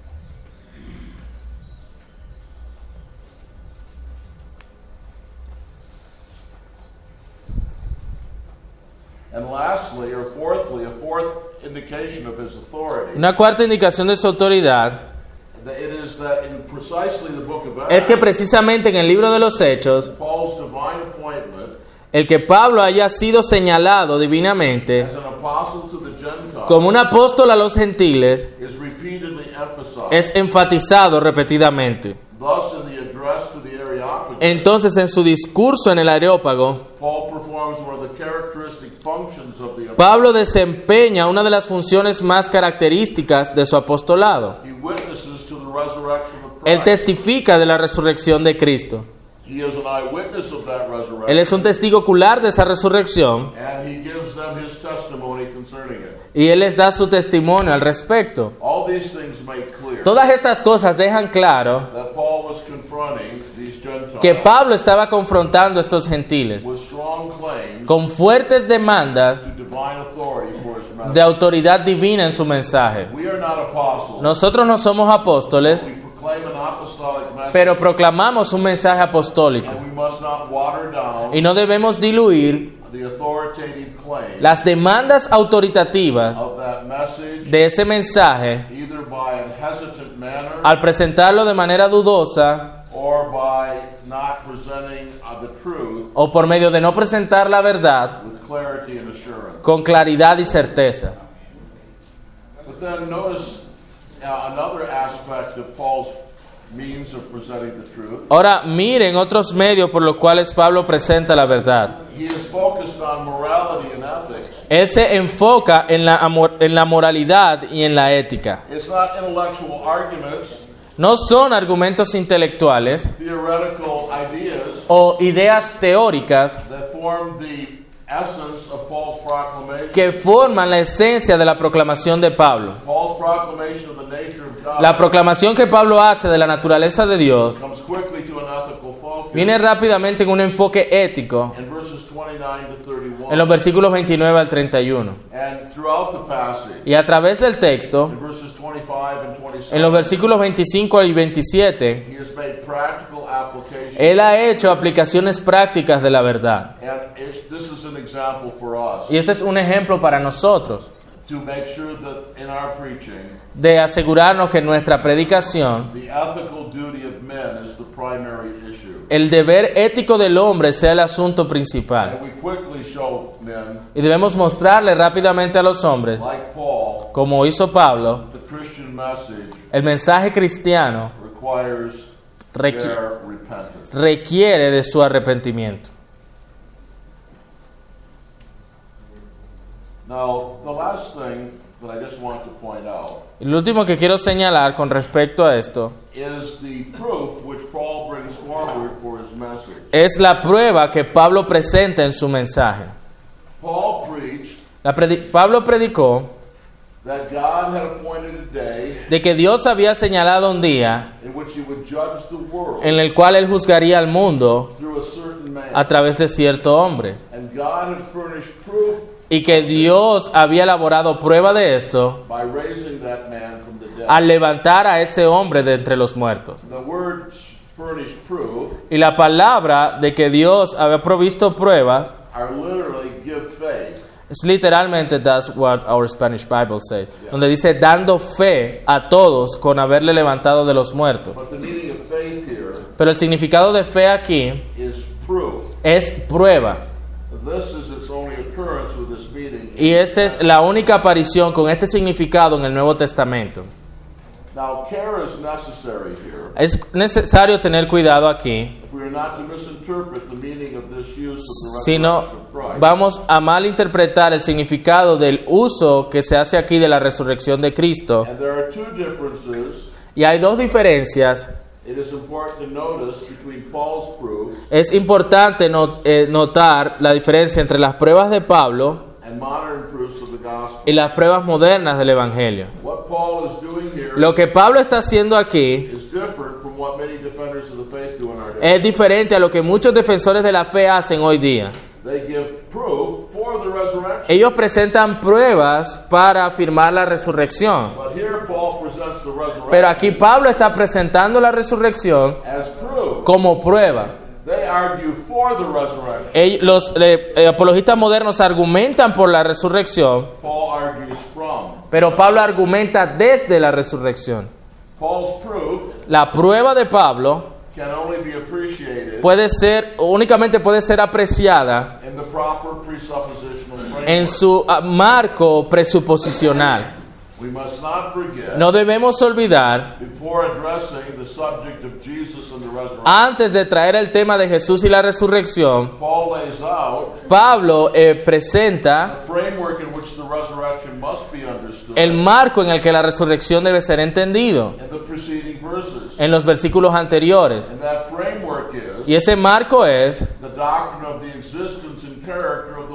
[SPEAKER 1] And lastly, or fourthly, a fourth indication of his authority,
[SPEAKER 2] Una cuarta indicación de su autoridad
[SPEAKER 1] that it is that in precisely the book of
[SPEAKER 2] es que
[SPEAKER 1] Acts,
[SPEAKER 2] precisamente en el libro de los Hechos,
[SPEAKER 1] Paul's divine appointment
[SPEAKER 2] el que Pablo haya sido señalado divinamente
[SPEAKER 1] as an apostle to the Gentiles
[SPEAKER 2] como un apóstol a los gentiles
[SPEAKER 1] is repeatedly emphasized.
[SPEAKER 2] es enfatizado repetidamente.
[SPEAKER 1] Thus, in the address to the Areopagus,
[SPEAKER 2] Entonces, en su discurso en el Areópago,
[SPEAKER 1] Paul performs one of the characteristic functions of the apostle.
[SPEAKER 2] Pablo desempeña una de las funciones más características de su apostolado.
[SPEAKER 1] He witnesses to the resurrection of
[SPEAKER 2] Él
[SPEAKER 1] Christ.
[SPEAKER 2] testifica de la resurrección de Cristo.
[SPEAKER 1] He is an eyewitness of that resurrection.
[SPEAKER 2] Él es un testigo ocular de esa resurrección
[SPEAKER 1] And he gives them
[SPEAKER 2] Y él les da su testimonio al respecto.
[SPEAKER 1] All these things make clear
[SPEAKER 2] Todas estas cosas dejan claro
[SPEAKER 1] that Paul was confronting these Gentiles
[SPEAKER 2] que Pablo estaba confrontando a estos gentiles
[SPEAKER 1] with strong claims
[SPEAKER 2] con fuertes demandas
[SPEAKER 1] to divine authority for his message.
[SPEAKER 2] de autoridad divina en su mensaje.
[SPEAKER 1] We are not apostles.
[SPEAKER 2] Nosotros no somos apóstoles,
[SPEAKER 1] We proclaim an apostolic message,
[SPEAKER 2] pero proclamamos un mensaje apostólico.
[SPEAKER 1] and we must not water down
[SPEAKER 2] Y no debemos diluir
[SPEAKER 1] the authoritative claims
[SPEAKER 2] las demandas autoritativas
[SPEAKER 1] of that message,
[SPEAKER 2] de ese mensaje
[SPEAKER 1] either by a hesitant manner
[SPEAKER 2] al presentarlo de manera dudosa
[SPEAKER 1] or by not presenting uh, the truth
[SPEAKER 2] o por medio de no presentar la verdad
[SPEAKER 1] with clarity and assurance.
[SPEAKER 2] con claridad y certeza.
[SPEAKER 1] But then notice uh, another aspect of Paul's means of presenting the truth.
[SPEAKER 2] Ahora miren otros medios por los cuales Pablo presenta la verdad.
[SPEAKER 1] He is focused on morality and ethics.
[SPEAKER 2] Él se enfoca en la, amor- en la moralidad y en la ética.
[SPEAKER 1] It's not intellectual arguments,
[SPEAKER 2] No son argumentos intelectuales
[SPEAKER 1] theoretical ideas
[SPEAKER 2] o ideas teóricas
[SPEAKER 1] that form the essence of Paul's proclamation.
[SPEAKER 2] que forman la esencia de la proclamación de Pablo.
[SPEAKER 1] Paul's proclamation of the nature of God
[SPEAKER 2] La proclamación que Pablo hace de la naturaleza de Dios
[SPEAKER 1] comes quickly to an ethical focus
[SPEAKER 2] viene rápidamente en un enfoque ético
[SPEAKER 1] in verses twenty-nine to thirty-one.
[SPEAKER 2] en los versículos veintinueve al treinta y uno.
[SPEAKER 1] And throughout the passage,
[SPEAKER 2] Y a través del texto,
[SPEAKER 1] in verses twenty-five and
[SPEAKER 2] en
[SPEAKER 1] twenty-seven,
[SPEAKER 2] los versículos veinticinco y veintisiete,
[SPEAKER 1] he has made practical application.
[SPEAKER 2] él ha hecho aplicaciones prácticas de la verdad.
[SPEAKER 1] And it, this is an example for us
[SPEAKER 2] Y este es un ejemplo para nosotros
[SPEAKER 1] to make sure that in our preaching,
[SPEAKER 2] de asegurarnos que nuestra predicación,
[SPEAKER 1] the ethical duty of men is the primary issue.
[SPEAKER 2] el deber ético del hombre sea el asunto principal.
[SPEAKER 1] And we quickly show men,
[SPEAKER 2] Y debemos mostrarle rápidamente a los hombres,
[SPEAKER 1] like Paul,
[SPEAKER 2] como hizo Pablo,
[SPEAKER 1] the Christian message
[SPEAKER 2] el mensaje cristiano
[SPEAKER 1] requires
[SPEAKER 2] requi-
[SPEAKER 1] their repentance.
[SPEAKER 2] requiere de su arrepentimiento.
[SPEAKER 1] Now, the last thing that I just want to point out
[SPEAKER 2] Y lo último que quiero señalar con respecto a esto
[SPEAKER 1] is the proof which Paul brings forward for his message.
[SPEAKER 2] es la prueba que Pablo presenta en su mensaje.
[SPEAKER 1] Paul preached
[SPEAKER 2] La predi- Pablo predicó
[SPEAKER 1] that God had appointed a day
[SPEAKER 2] de que Dios había señalado un día
[SPEAKER 1] in which he would judge the world
[SPEAKER 2] en el cual él juzgaría al mundo
[SPEAKER 1] through a certain man.
[SPEAKER 2] a través de cierto hombre,
[SPEAKER 1] And God had furnished proof
[SPEAKER 2] y que Dios había elaborado prueba de esto
[SPEAKER 1] by raising that man from the dead.
[SPEAKER 2] al levantar a ese hombre de entre los muertos.
[SPEAKER 1] The word furnished proof
[SPEAKER 2] Y la palabra de que Dios había provisto pruebas
[SPEAKER 1] are literally give faith.
[SPEAKER 2] es literalmente that's what our Spanish Bible says, donde dice dando fe a todos con haberle levantado de los muertos.
[SPEAKER 1] But the meaning of faith here
[SPEAKER 2] Pero el significado de fe aquí
[SPEAKER 1] is proof.
[SPEAKER 2] es prueba.
[SPEAKER 1] This is its only occurrence with this meaning.
[SPEAKER 2] Y esta es la única aparición con este significado en el Nuevo Testamento.
[SPEAKER 1] Now, care is necessary here
[SPEAKER 2] Es necesario tener cuidado aquí,
[SPEAKER 1] if we are not to misinterpret the meaning of this use of the
[SPEAKER 2] si no
[SPEAKER 1] resurrection of Christ.
[SPEAKER 2] vamos a malinterpretar el significado del uso que se hace aquí de la resurrección de Cristo.
[SPEAKER 1] And there are two differences
[SPEAKER 2] Y hay dos diferencias.
[SPEAKER 1] it is important to notice between Paul's proof
[SPEAKER 2] Es importante no- eh, notar la diferencia entre las pruebas de Pablo
[SPEAKER 1] and modern proofs of the gospel.
[SPEAKER 2] y las pruebas modernas del Evangelio.
[SPEAKER 1] What Paul is doing here
[SPEAKER 2] Lo que Pablo está haciendo aquí
[SPEAKER 1] is different from what many defenders of the faith do in our day.
[SPEAKER 2] es diferente a lo que muchos defensores de la fe hacen hoy día.
[SPEAKER 1] They give proof for the resurrection.
[SPEAKER 2] Ellos presentan pruebas para afirmar la resurrección.
[SPEAKER 1] But here Paul presents the resurrection
[SPEAKER 2] Pero aquí Pablo está presentando la resurrección
[SPEAKER 1] as proof.
[SPEAKER 2] como prueba.
[SPEAKER 1] They argue for the resurrection.
[SPEAKER 2] Ellos- los eh, eh, apologistas modernos argumentan por la resurrección,
[SPEAKER 1] Paul argues from.
[SPEAKER 2] pero Pablo argumenta desde la resurrección.
[SPEAKER 1] Paul's proof
[SPEAKER 2] La prueba de Pablo
[SPEAKER 1] can only be appreciated
[SPEAKER 2] puede ser, únicamente puede ser apreciada
[SPEAKER 1] in the proper presuppositional framework.
[SPEAKER 2] en su ah, marco presuposicional.
[SPEAKER 1] We must not forget,
[SPEAKER 2] No debemos olvidar,
[SPEAKER 1] before addressing the subject of Jesus and the resurrection,
[SPEAKER 2] antes de traer el tema de Jesús y la resurrección,
[SPEAKER 1] Paul lays out
[SPEAKER 2] Pablo eh, presenta
[SPEAKER 1] the framework in which the resurrection must be understood
[SPEAKER 2] el marco en el que la resurrección debe ser entendido
[SPEAKER 1] in the preceding verses.
[SPEAKER 2] en los versículos anteriores.
[SPEAKER 1] And that framework is
[SPEAKER 2] Y ese marco es
[SPEAKER 1] the doctrine of the existence and character of the living God.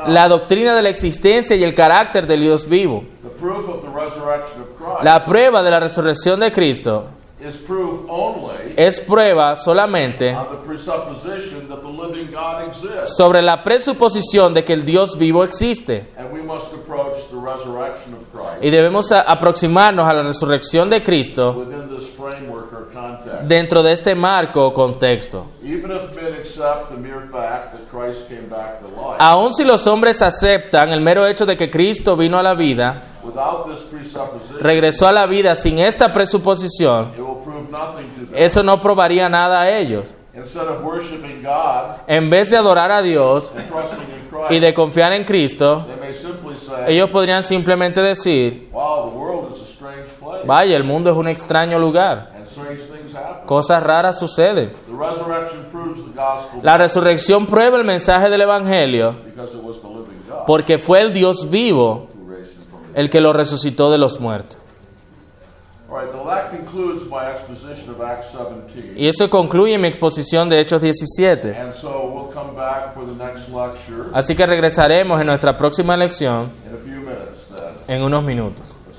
[SPEAKER 1] God.
[SPEAKER 2] la doctrina de la existencia y el carácter del Dios vivo.
[SPEAKER 1] The proof of the resurrection of Christ
[SPEAKER 2] La prueba de la resurrección de Cristo
[SPEAKER 1] is proof only
[SPEAKER 2] es prueba solamente
[SPEAKER 1] on the presupposition that the living God exists.
[SPEAKER 2] sobre la presuposición de que el Dios vivo existe.
[SPEAKER 1] And we must approach the resurrection of Christ
[SPEAKER 2] Y debemos a- aproximarnos a la resurrección de Cristo
[SPEAKER 1] within this framework or context.
[SPEAKER 2] dentro de este marco o contexto.
[SPEAKER 1] Even if men accept the mere fact that Christ came back to life,
[SPEAKER 2] Aun si los hombres aceptan el mero hecho de que Cristo vino a la vida,
[SPEAKER 1] without this presupposition,
[SPEAKER 2] regresó a la vida sin esta presuposición,
[SPEAKER 1] it will prove nothing to them.
[SPEAKER 2] eso no probaría nada a ellos.
[SPEAKER 1] Instead of worshiping God
[SPEAKER 2] En vez de adorar a Dios
[SPEAKER 1] and trusting in Christ,
[SPEAKER 2] y de confiar en Cristo,
[SPEAKER 1] they may simply say,
[SPEAKER 2] ellos podrían simplemente decir,
[SPEAKER 1] wow, the world is a strange place,
[SPEAKER 2] vaya, el mundo es un extraño lugar,
[SPEAKER 1] and strange things happen.
[SPEAKER 2] cosas raras suceden.
[SPEAKER 1] The resurrection proves the gospel
[SPEAKER 2] La resurrección prueba el mensaje del Evangelio
[SPEAKER 1] because it was the living God
[SPEAKER 2] porque fue el Dios vivo
[SPEAKER 1] who raised him from the dead.
[SPEAKER 2] el que lo resucitó de los muertos.
[SPEAKER 1] All right, well, that concludes my exposition of Acts seventeen.
[SPEAKER 2] Y eso concluye mi exposición de Hechos diecisiete.
[SPEAKER 1] And so we'll come back for the next lecture
[SPEAKER 2] Así que regresaremos en nuestra próxima lección
[SPEAKER 1] in a few minutes then.
[SPEAKER 2] en unos minutos.